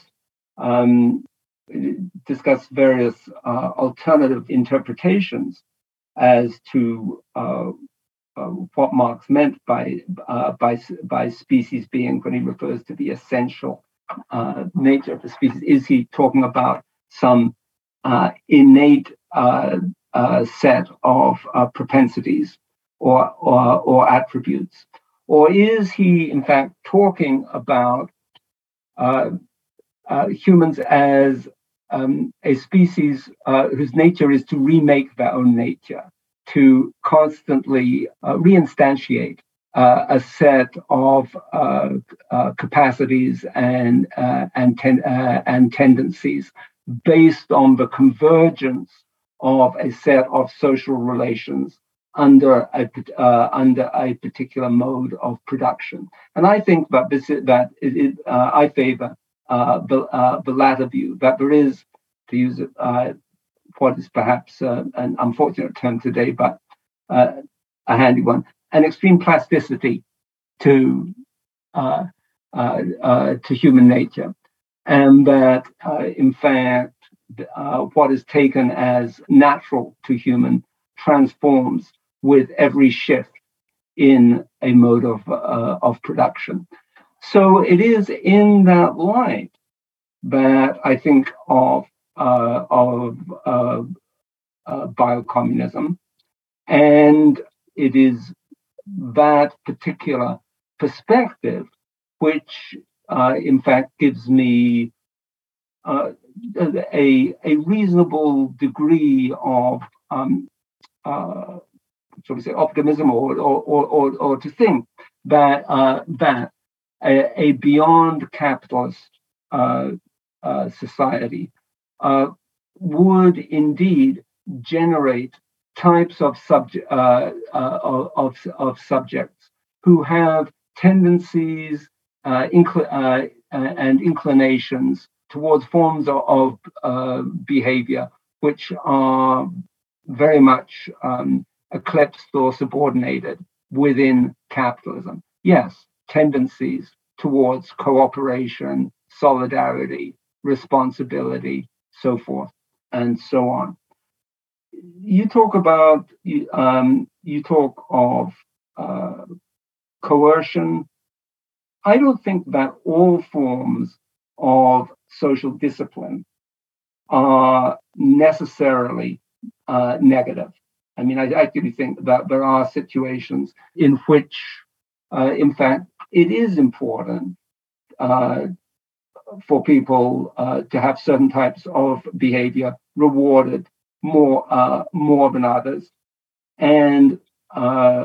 um, discuss various uh, alternative interpretations as to uh, Uh, what Marx meant by uh, by by species being when he refers to the essential uh, nature of the species. Is he talking about some uh, innate uh, uh, set of uh, propensities or, or or attributes, or is he in fact talking about uh, uh, humans as um, a species uh, whose nature is to remake their own nature, to constantly uh, reinstantiate uh, a set of uh, uh, capacities and uh, and, ten- uh, and tendencies based on the convergence of a set of social relations under a uh, under a particular mode of production. And I think that this is, that it, it, uh, I favor uh, the uh, the latter view, that there is, to use it. Uh, what is perhaps uh, an unfortunate term today, but uh, a handy one, an extreme plasticity to uh, uh, uh, to human nature, and that uh, in fact uh, what is taken as natural to human transforms with every shift in a mode of uh, of production. So it is in that light that I think of uh, of uh, uh, biocommunism, and it is that particular perspective which, uh, in fact, gives me uh, a a reasonable degree of um, uh, shall we say optimism, or or or, or, or to think that uh, that a, a beyond capitalist uh, uh, society uh, would indeed generate types of subject uh, uh, of, of subjects who have tendencies uh, incl- uh, and inclinations towards forms of, of uh, behavior which are very much um, eclipsed or subordinated within capitalism. Yes, tendencies towards cooperation, solidarity, responsibility, so forth and so on. You talk about um, you talk of uh, coercion. I don't think that all forms of social discipline are necessarily uh, negative. I mean, I actually think that there are situations in which, uh, in fact, it is important uh, for people uh, to have certain types of behavior rewarded more uh, more than others, and uh,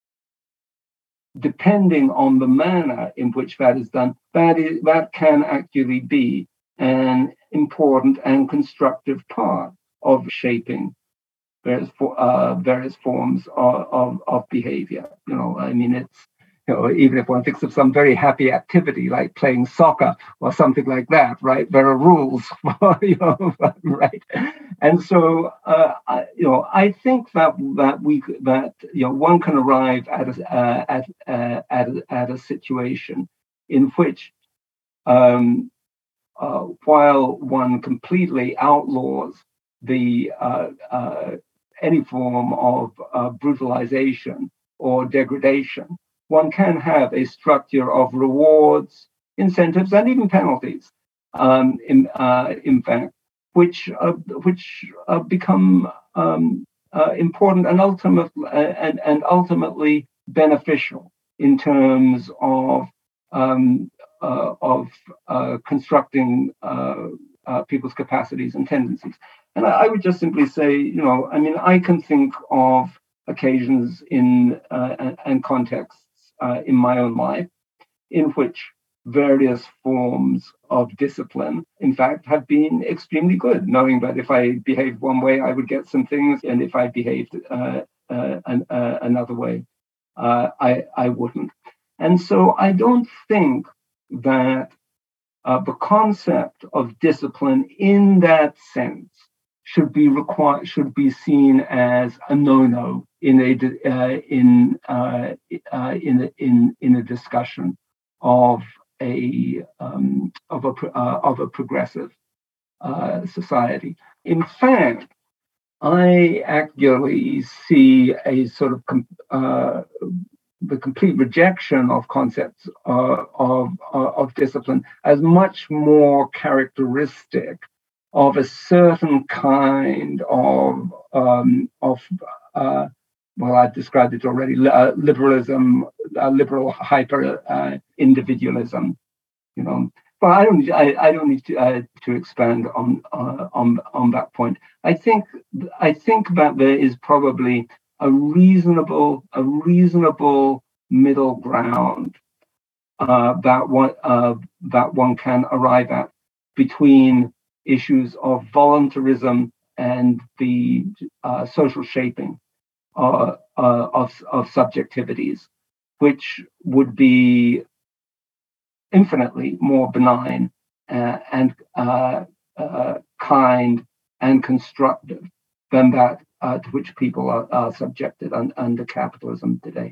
depending on the manner in which that is done, that is that can actually be an important and constructive part of shaping various uh, various forms of, of, of behavior. You know, I mean, it's, you know, even if one thinks of some very happy activity like playing soccer or something like that, right? There are rules, you know, right? And so, uh, I, you know, I think that that we that you know one can arrive at a uh, at uh, at a, at a situation in which, um, uh, while one completely outlaws the uh, uh, any form of uh, brutalization or degradation, one can have a structure of rewards, incentives, and even penalties, um, in, uh, in fact, which uh, which uh, become um, uh, important and ultimate uh, and and ultimately beneficial in terms of um, uh, of uh, constructing uh, uh, people's capacities and tendencies. And I, I would just simply say, you know, I mean, I can think of occasions in uh, and, and contexts uh, in my own life in which various forms of discipline, in fact, have been extremely good, knowing that if I behaved one way, I would get some things, and if I behaved uh, uh, an, uh, another way, uh, I, I wouldn't. And so I don't think that uh, the concept of discipline in that sense should be required should be seen as a no-no in a uh, in uh, uh, in a, in in a discussion of a um, of a uh, of a progressive uh, society. In fact, I actually see a sort of uh, the complete rejection of concepts uh, of uh, of discipline as much more characteristic of a certain kind of um, of uh, well, I've described it already: uh, liberalism, uh, liberal hyper uh, individualism. You know, but I don't. I, I don't need to uh, to expand on uh, on on that point. I think I think that there is probably a reasonable a reasonable middle ground uh, that one uh, that one can arrive at between issues of voluntarism and the uh, social shaping uh, uh, of of subjectivities, which would be infinitely more benign uh, and uh, uh, kind and constructive than that uh, to which people are, are subjected un- under capitalism today.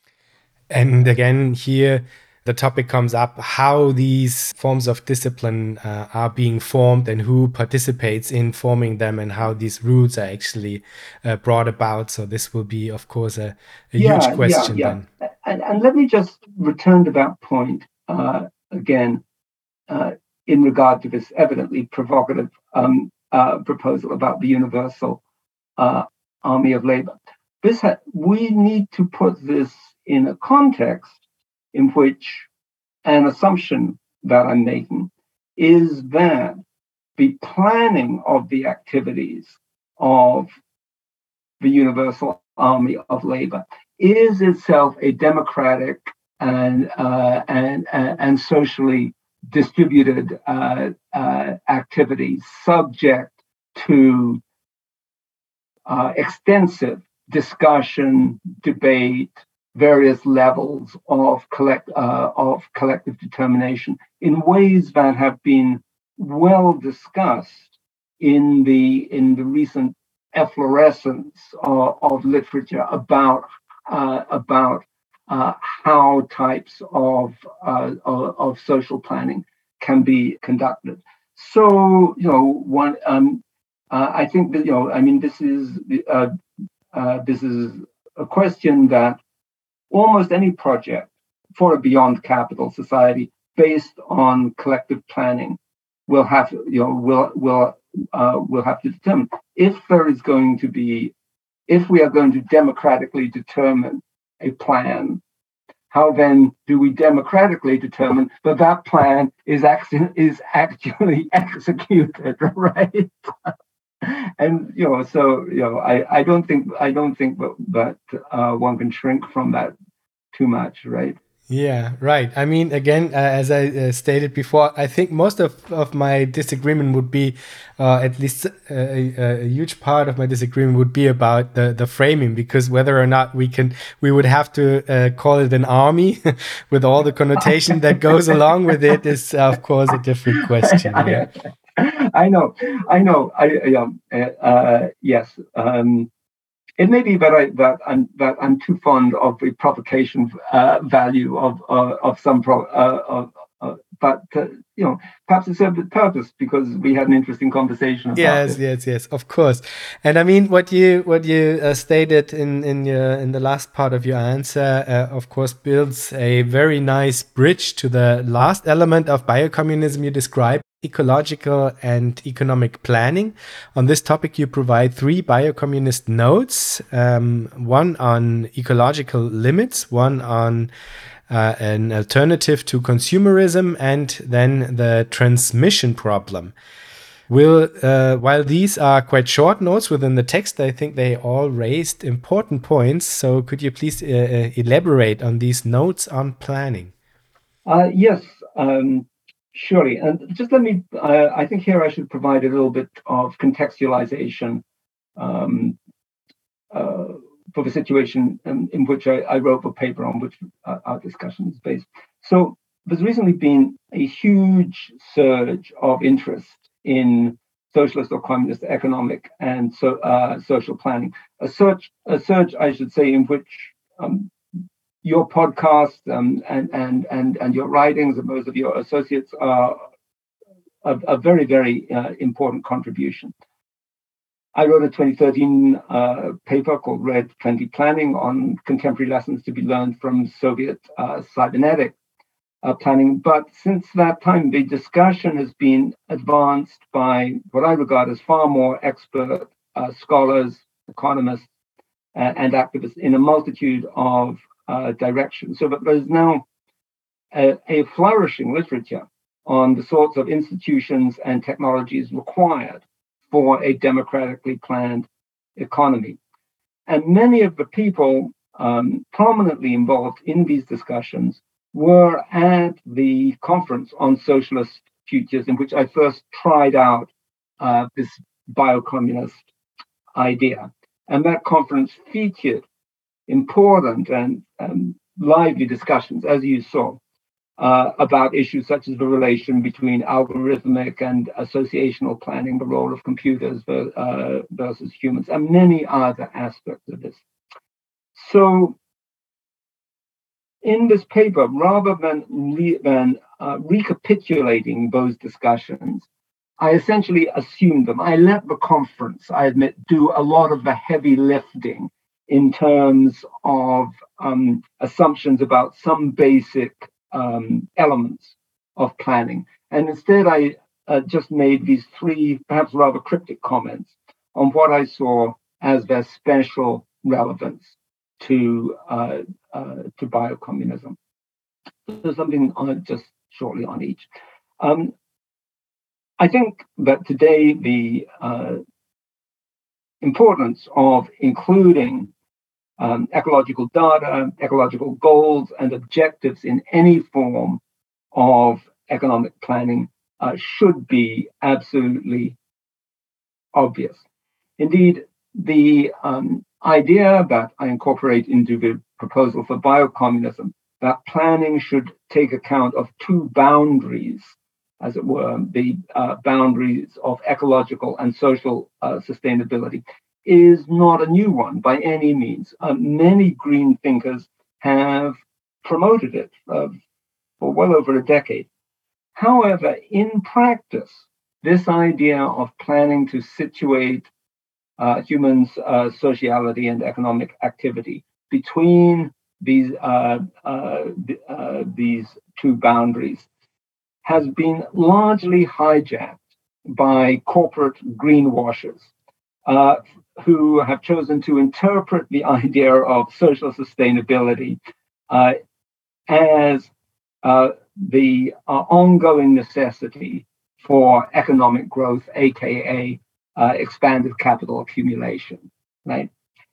And again, here the topic comes up how these forms of discipline uh, are being formed and who participates in forming them and how these roots are actually uh, brought about. So this will be, of course, a, a yeah, huge question yeah, yeah. then. And, and let me just return to that point uh, again uh, in regard to this evidently provocative um, uh, proposal about the universal uh, army of labor. This ha- we need to put this in a context in which an assumption that I'm making is that the planning of the activities of the Universal Army of Labor is itself a democratic and uh, and, uh, and socially distributed uh, uh, activity subject to uh, extensive discussion, debate, various levels of collect uh, of collective determination in ways that have been well discussed in the in the recent efflorescence of, of literature about uh, about uh, how types of, uh, of of social planning can be conducted. so, you know, one, um, uh, I think that, you know, I mean, this is uh, uh, this is a question that almost any project for a beyond capital society based on collective planning will have, you know, will will uh, will have to determine if there is going to be, if we are going to democratically determine a plan. How then do we democratically determine that that plan is actually is actually executed, right? And you know, so you know, I, I don't think I don't think that, that uh, one can shrink from that too much, right? Yeah, right. I mean, again, uh, as I uh, stated before, I think most of, of my disagreement would be, uh, at least uh, a, a huge part of my disagreement would be about the, the framing, because whether or not we can, we would have to uh, call it an army with all the connotation that goes along with it is, of course, a different question. Yeah. I know, I know. I um, uh, uh, yes. Um, It may be that I that I'm that I'm too fond of the provocation uh, value of uh, of some pro, uh, of, uh, but uh, you know, perhaps it served its purpose because we had an interesting conversation about Yes, it. yes, yes, of course. And I mean, what you what you uh, stated in in your in the last part of your answer, uh, of course, builds a very nice bridge to the last element of biocommunism you described: ecological and economic planning. On this topic, you provide three biocommunist notes: um, one on ecological limits, one on uh, an alternative to consumerism, and then the transmission problem. Will, uh, while these are quite short notes within the text, I think they all raised important points. So could you please uh, uh, elaborate on these notes on planning? Uh, yes, um, surely. And just let me. Uh, I think here I should provide a little bit of contextualization um, uh, for the situation in, in which I, I wrote the paper on which uh, our discussion is based. So there's recently been a huge surge of interest in socialist or communist economic and so uh, social planning. A surge, a surge, I should say, in which um, your podcast um, and and and and your writings and those of your associates are a, a very very uh, important contribution. I wrote a twenty thirteen uh, paper called Red twenty Planning on contemporary lessons to be learned from Soviet uh, cybernetic uh, planning. But since that time, the discussion has been advanced by what I regard as far more expert uh, scholars, economists, uh, and activists in a multitude of uh, directions. So that there's now a, a flourishing literature on the sorts of institutions and technologies required for a democratically planned economy. And many of the people um, prominently involved in these discussions were at the conference on socialist futures, in which I first tried out uh, this biocommunist idea. And that conference featured important and um, lively discussions, as you saw, uh, about issues such as the relation between algorithmic and associational planning, the role of computers uh, versus humans, and many other aspects of this. So, in this paper, rather than, re- than uh, recapitulating those discussions, I essentially assumed them. I let the conference, I admit, do a lot of the heavy lifting in terms of um, assumptions about some basic um, elements of planning. And instead, I uh, just made these three, perhaps rather cryptic comments on what I saw as their special relevance to uh, uh, to biocommunism. So something on just shortly on each. Um, I think that today the uh, importance of including um, ecological data, ecological goals, and objectives in any form of economic planning uh, should be absolutely obvious. Indeed, the um, idea that I incorporate into the proposal for biocommunism, that planning should take account of two boundaries, as it were, the uh, boundaries of ecological and social uh, sustainability, is not a new one by any means. Uh, many green thinkers have promoted it uh, for well over a decade. However, in practice, this idea of planning to situate uh, humans' uh, sociality and economic activity between these uh, uh, uh, these two boundaries has been largely hijacked by corporate greenwashers uh, who have chosen to interpret the idea of social sustainability uh, as uh, the uh, ongoing necessity for economic growth, aka uh, expanded capital accumulation, right?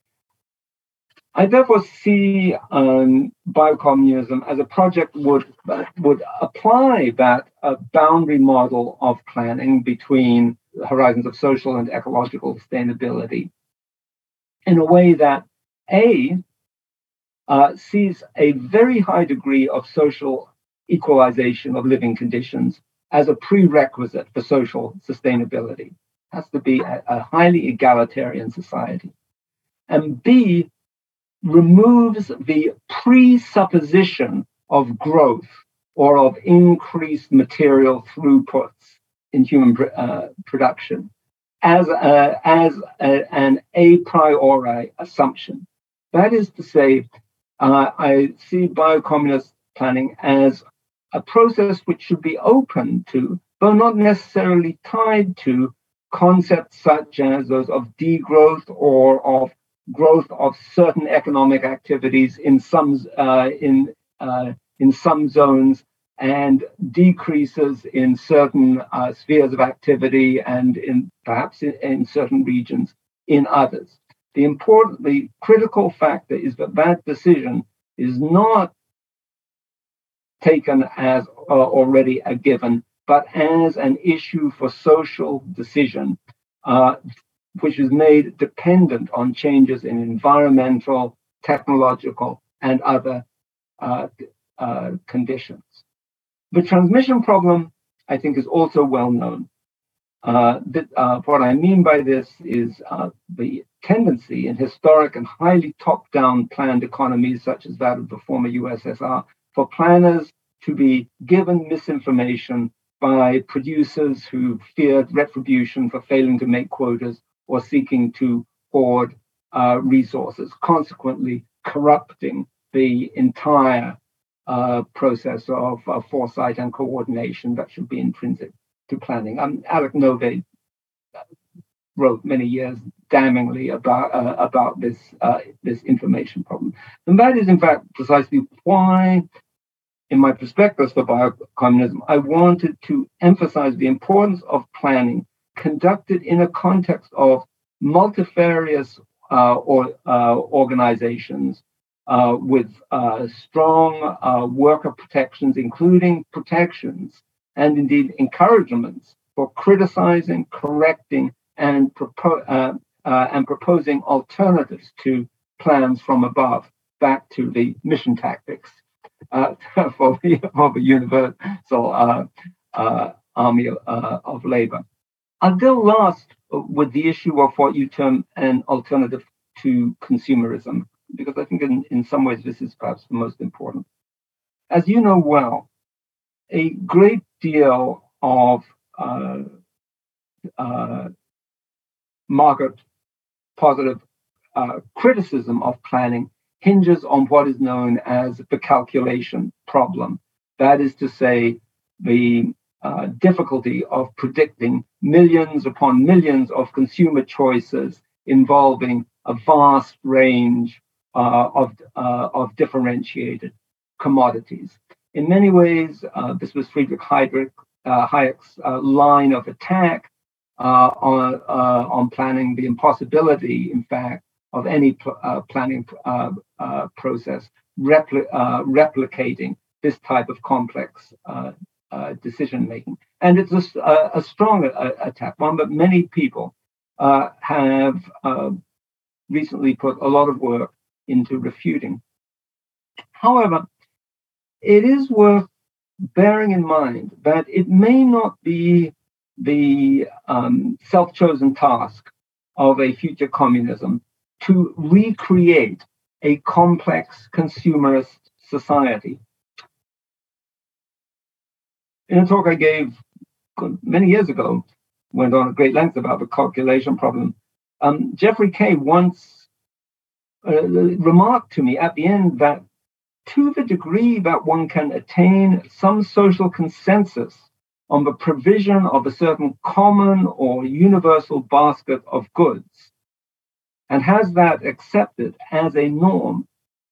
I therefore see um, biocommunism as a project would would apply that uh, boundary model of planning between the horizons of social and ecological sustainability in a way that A uh, sees a very high degree of social equalization of living conditions as a prerequisite for social sustainability. It has to be a, a highly egalitarian society. And B removes the presupposition of growth or of increased material throughputs in human uh, production as, a, as a, an a priori assumption. That is to say, uh, I see biocommunist planning as a process which should be open to, but not necessarily tied to, concepts such as those of degrowth or of growth of certain economic activities in some uh, in uh, in some zones and decreases in certain uh, spheres of activity and in perhaps in, in certain regions in others. The important, the critical factor is that that decision is not taken as uh, already a given, but as an issue for social decision, uh, which is made dependent on changes in environmental, technological, and other uh, uh, conditions. The transmission problem, I think, is also well known. Uh, that, uh, what I mean by this is uh, the tendency in historic and highly top-down planned economies, such as that of the former U S S R, for planners to be given misinformation by producers who feared retribution for failing to make quotas or seeking to hoard uh, resources, consequently corrupting the entire uh, process of uh, foresight and coordination that should be intrinsic to planning. Um, Alec Nove wrote many years damningly about uh, about this uh, this information problem, and that is in fact precisely why, in my prospectus for biocommunism, I wanted to emphasize the importance of planning conducted in a context of multifarious uh, or uh, organizations uh, with uh, strong uh, worker protections, including protections and indeed encouragements for criticizing, correcting, and, propo- uh, uh, and proposing alternatives to plans from above, back to the mission tactics uh, for, the, for the universal uh, uh, army uh, of labor. I'll go last with the issue of what you term an alternative to consumerism, because I think in, in some ways this is perhaps the most important. As you know well, a great deal of uh, uh, market positive uh, criticism of planning hinges on what is known as the calculation problem. That is to say, the uh, difficulty of predicting millions upon millions of consumer choices involving a vast range uh, of, uh, of differentiated commodities. In many ways, uh, this was Friedrich Hayek, uh, Hayek's uh, line of attack uh, on, uh, on planning, the impossibility, in fact, of any pl- uh, planning uh, uh, process repli- uh, replicating this type of complex uh, uh, decision making. And it's a, a strong uh, attack, one that many people uh, have uh, recently put a lot of work into refuting. However, it is worth bearing in mind that it may not be the um, self-chosen task of a future communism to recreate a complex consumerist society. In a talk I gave many years ago, went on at great length about the calculation problem. Um, Geoffrey Kay once uh, remarked to me at the end that to the degree that one can attain some social consensus on the provision of a certain common or universal basket of goods, and has that accepted as a norm,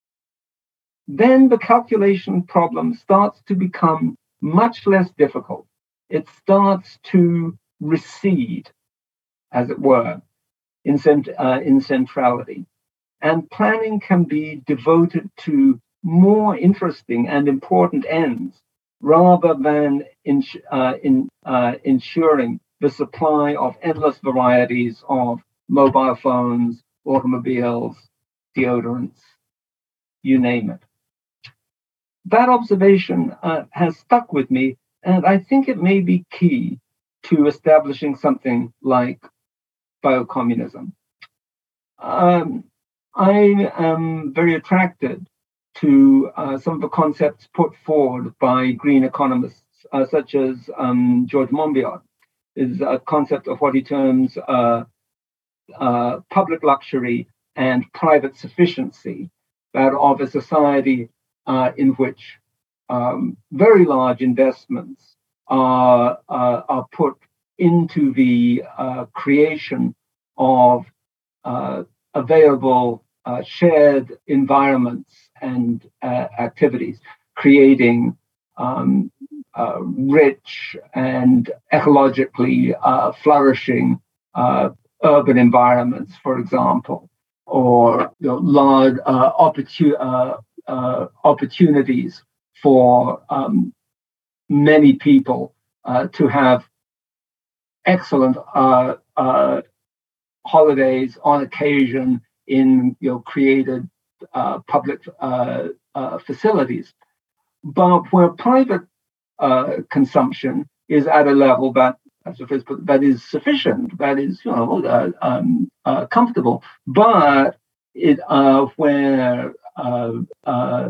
then the calculation problem starts to become much less difficult. It starts to recede, as it were, in, cent- uh, in centrality. And planning can be devoted to more interesting and important ends rather than in, uh, in, uh, ensuring the supply of endless varieties of mobile phones, automobiles, deodorants, you name it. That observation uh, has stuck with me, and I think it may be key to establishing something like biocommunism. Um, I am very attracted to uh, some of the concepts put forward by green economists, uh, such as um, George Monbiot, is a concept of what he terms uh, uh, public luxury and private sufficiency, that of a society uh, in which um, very large investments are, uh, are put into the uh, creation of uh, available uh, shared environments and uh, activities, creating um, uh, rich and ecologically uh, flourishing uh, urban environments, for example, or you know, large uh, opportun- uh, uh, opportunities for um, many people uh, to have excellent uh, uh, holidays on occasion in you know created uh, public uh, uh, facilities, but where private uh, consumption is at a level that, as the phrase put, that is sufficient, that is you know uh, um, uh, comfortable, but it uh, where uh, uh,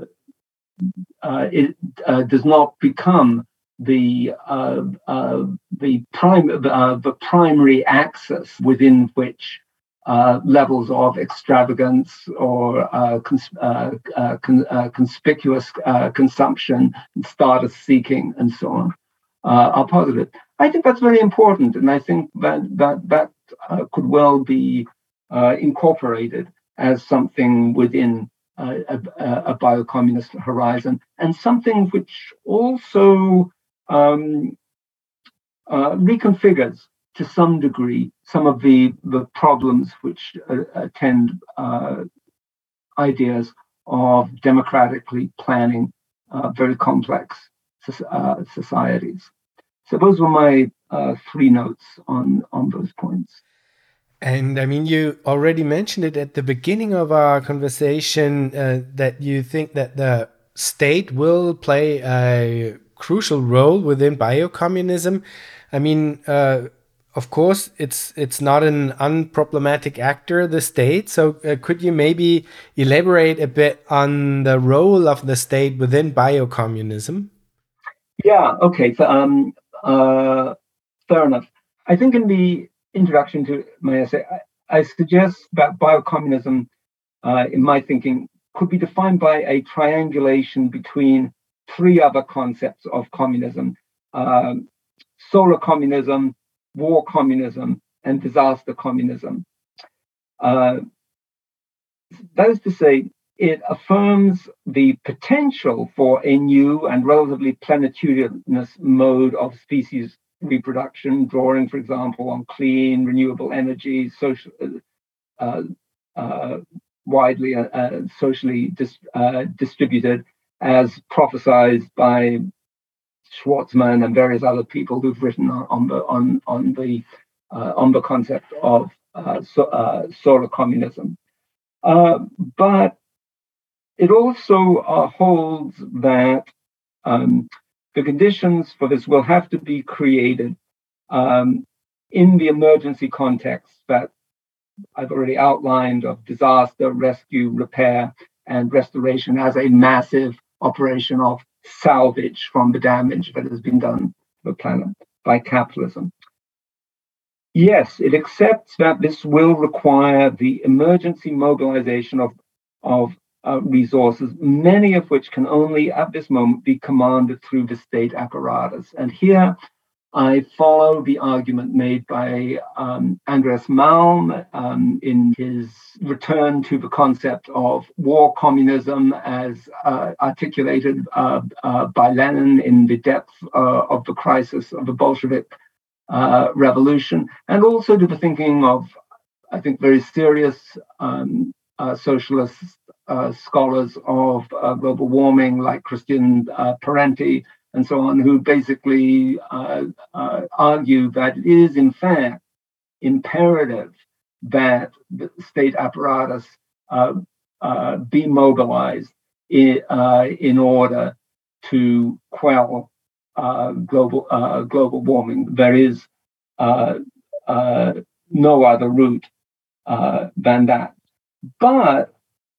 uh, it uh, does not become the uh, uh, the prime uh, the primary axis within which uh, levels of extravagance or uh, cons- uh, uh, con- uh, conspicuous uh, consumption, status seeking, and so on uh, are positive. I think that's very important, and I think that that that uh, could well be uh, incorporated as something within uh, a, a biocommunist horizon, and something which also um, uh, reconfigures to some degree some of the, the problems which uh, attend uh, ideas of democratically planning uh, very complex uh, societies. So those were my uh, three notes on, on those points. And I mean, you already mentioned it at the beginning of our conversation uh, that you think that the state will play a crucial role within biocommunism. I mean, uh, of course, it's it's not an unproblematic actor, the state. So uh, could you maybe elaborate a bit on the role of the state within biocommunism? Yeah, okay. So, um, uh, fair enough. I think in the introduction to my essay, I, I suggest that biocommunism, uh, in my thinking, could be defined by a triangulation between three other concepts of communism: um, solar communism, war communism, and disaster communism. Uh, that is to say, it affirms the potential for a new and relatively plenitudinous mode of species reproduction, drawing, for example, on clean, renewable energy, social, uh, uh, widely uh, socially dis- uh, distributed, as prophesied by Schwartzman and various other people who've written on, on the on on the uh, on the concept of uh, so, uh, solar communism. Uh, but it also uh, holds that um, the conditions for this will have to be created um, in the emergency context that I've already outlined of disaster, rescue, repair, and restoration as a massive operation of salvage from the damage that has been done to the planet by capitalism. Yes, it accepts that this will require the emergency mobilization of, of uh, resources, many of which can only at this moment be commanded through the state apparatus. And here I follow the argument made by um, Andreas Malm um, in his return to the concept of war communism as uh, articulated uh, uh, by Lenin in the depth uh, of the crisis of the Bolshevik uh, revolution, and also to the thinking of, I think, very serious um, uh, socialist uh, scholars of uh, global warming like Christian uh, Parenti and so on, who basically uh, uh, argue that it is, in fact, imperative that the state apparatus uh, uh, be mobilized in, uh, in order to quell uh, global uh, global warming. There is uh, uh, no other route uh, than that. But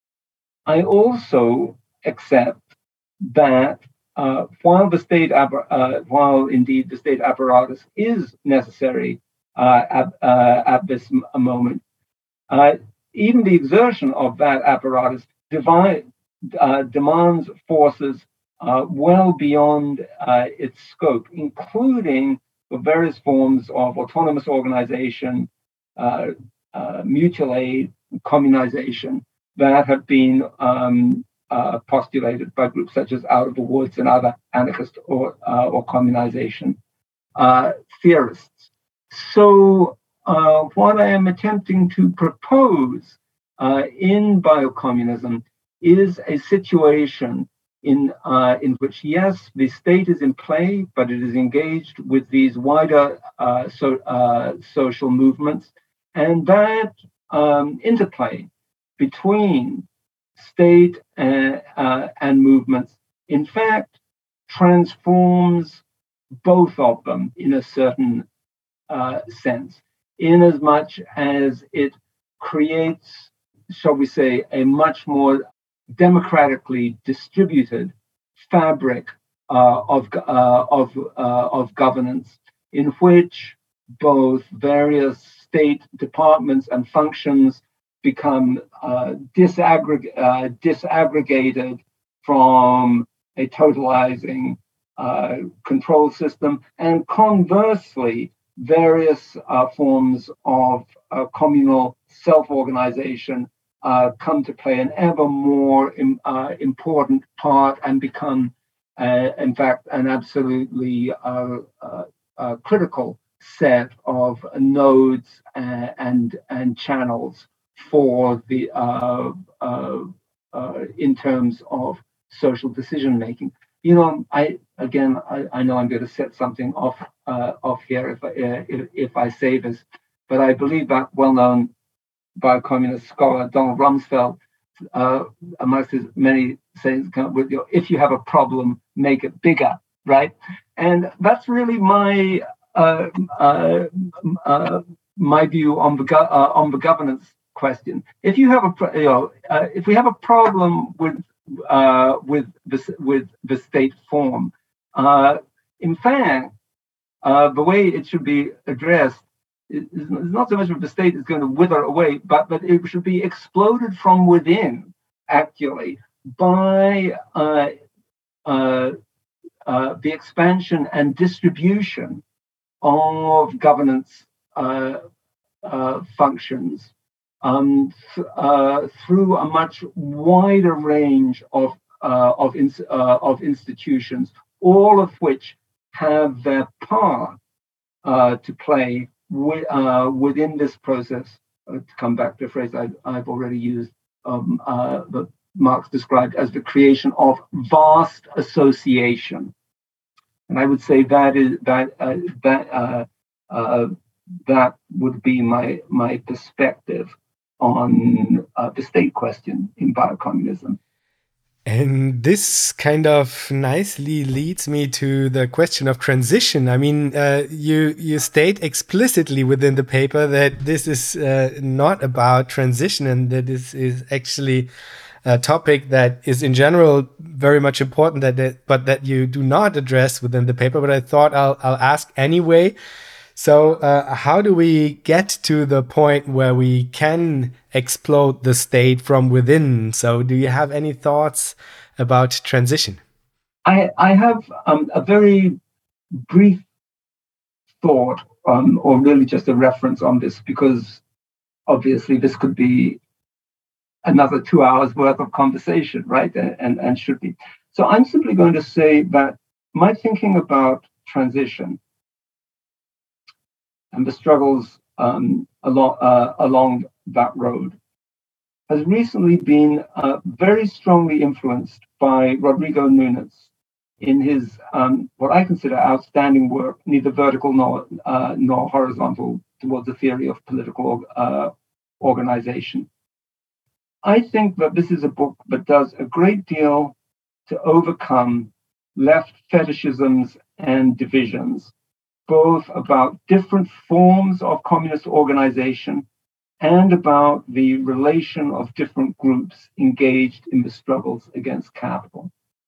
I also accept that Uh, while the state, uh, while indeed the state apparatus is necessary uh, at, uh, at this m- moment, uh, even the exertion of that apparatus divide, uh, demands forces uh, well beyond uh, its scope, including the various forms of autonomous organization, uh, uh, mutual aid, communization that have been um, Uh, postulated by groups such as Out of the Woods and other anarchist or uh, or communization uh, theorists. So uh, what I am attempting to propose uh, in biocommunism is a situation in uh, in which, yes, the state is in play, but it is engaged with these wider uh, so, uh, social movements, and that um, interplay between state uh, uh, and movements, in fact, transforms both of them in a certain uh, sense, in as much as it creates, shall we say, a much more democratically distributed fabric uh, of uh, of uh, of governance, in which both various state departments and functions become uh, disaggregate, uh, disaggregated from a totalizing uh, control system, and conversely, various uh, forms of uh, communal self-organization uh, come to play an ever more im- uh, important part and become, uh, in fact, an absolutely uh, uh, uh, critical set of nodes and and, and channels for the uh, uh, uh, in terms of social decision making. You know, I again, I, I know I'm going to set something off uh, off here if I, uh, if, if I say this, but I believe that well-known biocommunist scholar Donald Rumsfeld, uh, amongst his many sayings, with you know, if you have a problem, make it bigger, right? And that's really my uh, uh, uh, my view on the go- uh, on the governance question. If you have a, you know, uh, if we have a problem with uh, with the with the state form, uh, in fact, uh, the way it should be addressed is, is not so much that the state is going to wither away, but that it should be exploded from within, actually, by uh, uh, uh, the expansion and distribution of governance uh, uh, functions. Um, th- uh, through a much wider range of uh, of, ins- uh, of institutions, all of which have their part uh, to play wi- uh, within this process. Uh, to come back to a phrase I've, I've already used, um, uh, that Marx described as the creation of vast association, and I would say that is that uh, that uh, uh, that would be my my perspective on uh, the state question in biocommunism. And this kind of nicely leads me to the question of transition. I mean, uh, you you state explicitly within the paper that this is uh, not about transition, and that this is actually a topic that is in general very much important, that, that but that you do not address within the paper. But I thought I'll I'll ask anyway. So uh, how do we get to the point where we can explode the state from within? So do you have any thoughts about transition? I, I have um, a very brief thought on, or really just a reference on this, because obviously this could be another two hours worth of conversation, right? And, and, and should be. So I'm simply going to say that my thinking about transition and the struggles um, along, uh, along that road has recently been uh, very strongly influenced by Rodrigo Nunes in his, um, what I consider outstanding work, neither vertical nor, uh, nor horizontal, towards the theory of political uh, organization. I think that this is a book that does a great deal to overcome left fetishisms and divisions, both about different forms of communist organization and about the relation of different groups engaged in the struggles against capital.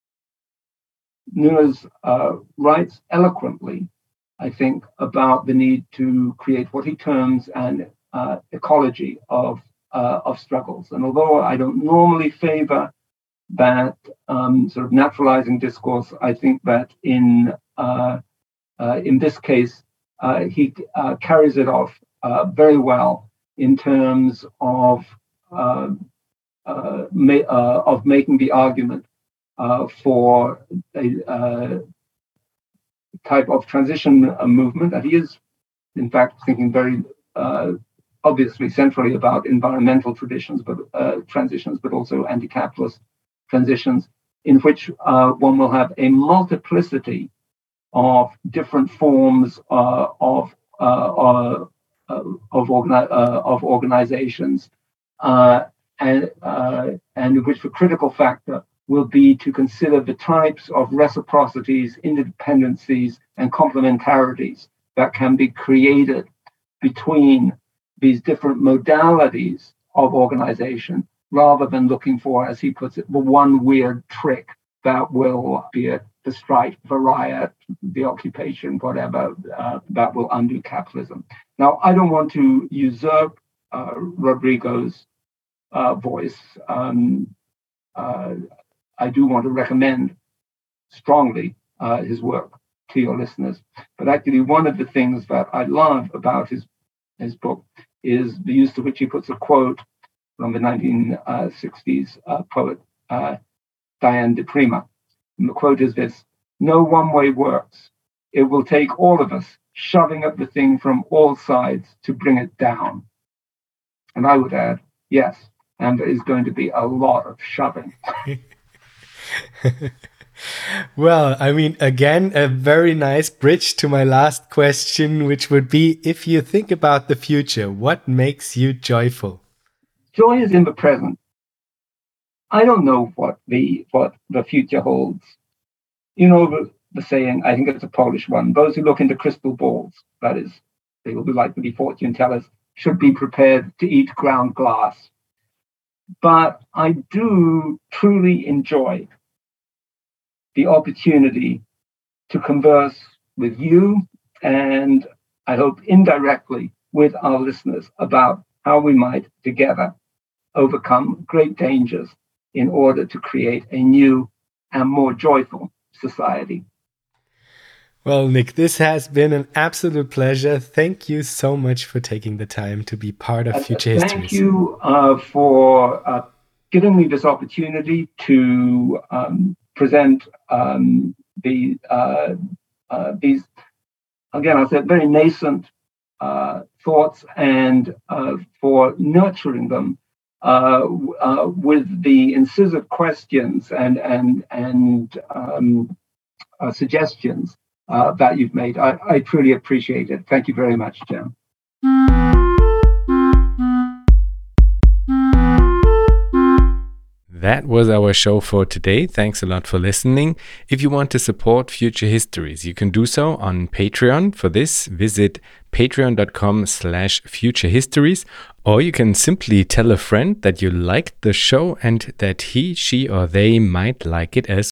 Nunes uh, writes eloquently, I think, about the need to create what he terms an uh, ecology of, uh, of struggles. And although I don't normally favor that um, sort of naturalizing discourse, I think that in uh, uh, in this case, uh, he uh, carries it off uh, very well in terms of uh, uh, ma- uh, of making the argument uh, for a uh, type of transition uh, movement that he is, in fact, thinking very uh, obviously centrally about environmental traditions, but uh, transitions, but also anti-capitalist transitions, in which uh, one will have a multiplicity of different forms uh, of uh, uh, of, organi- uh, of organizations, uh, and uh, and which the critical factor will be to consider the types of reciprocities, interdependencies, and complementarities that can be created between these different modalities of organization, rather than looking for, as he puts it, the one weird trick that will, be it the strike, the riot, the occupation, whatever, uh, that will undo capitalism. Now, I don't want to usurp uh, Rodrigo's uh, voice. Um, uh, I do want to recommend strongly uh, his work to your listeners. But actually, one of the things that I love about his, his book is the use to which he puts a quote from the nineteen sixties uh, poet uh, Diane de Prima. And the quote is this: "No one way works. It will take all of us shoving at the thing from all sides to bring it down." And I would add, yes, and there is going to be a lot of shoving. Well, I mean, again, a very nice bridge to my last question, which would be, if you think about the future, what makes you joyful? Joy is in the present. I don't know what the what the future holds. You know the, the saying, I think it's a Polish one, those who look into crystal balls, that is, they will be like to be fortune tellers, should be prepared to eat ground glass. But I do truly enjoy the opportunity to converse with you, and I hope indirectly with our listeners, about how we might together overcome great dangers in order to create a new and more joyful society. Well, Nick, this has been an absolute pleasure. Thank you so much for taking the time to be part of uh, Future Histories. Histories. Thank you uh, for uh, giving me this opportunity to um, present um, the uh, uh, these, again, I said, very nascent uh, thoughts, and uh, for nurturing them uh, uh, with the incisive questions and and and um, uh, suggestions uh, that you've made. I, I truly appreciate it. Thank you very much, Jim. That was our show for today. Thanks a lot for listening. If you want to support Future Histories, you can do so on Patreon. For this, visit patreon.com slash future histories, or you can simply tell a friend that you liked the show and that he, she, or they might like it as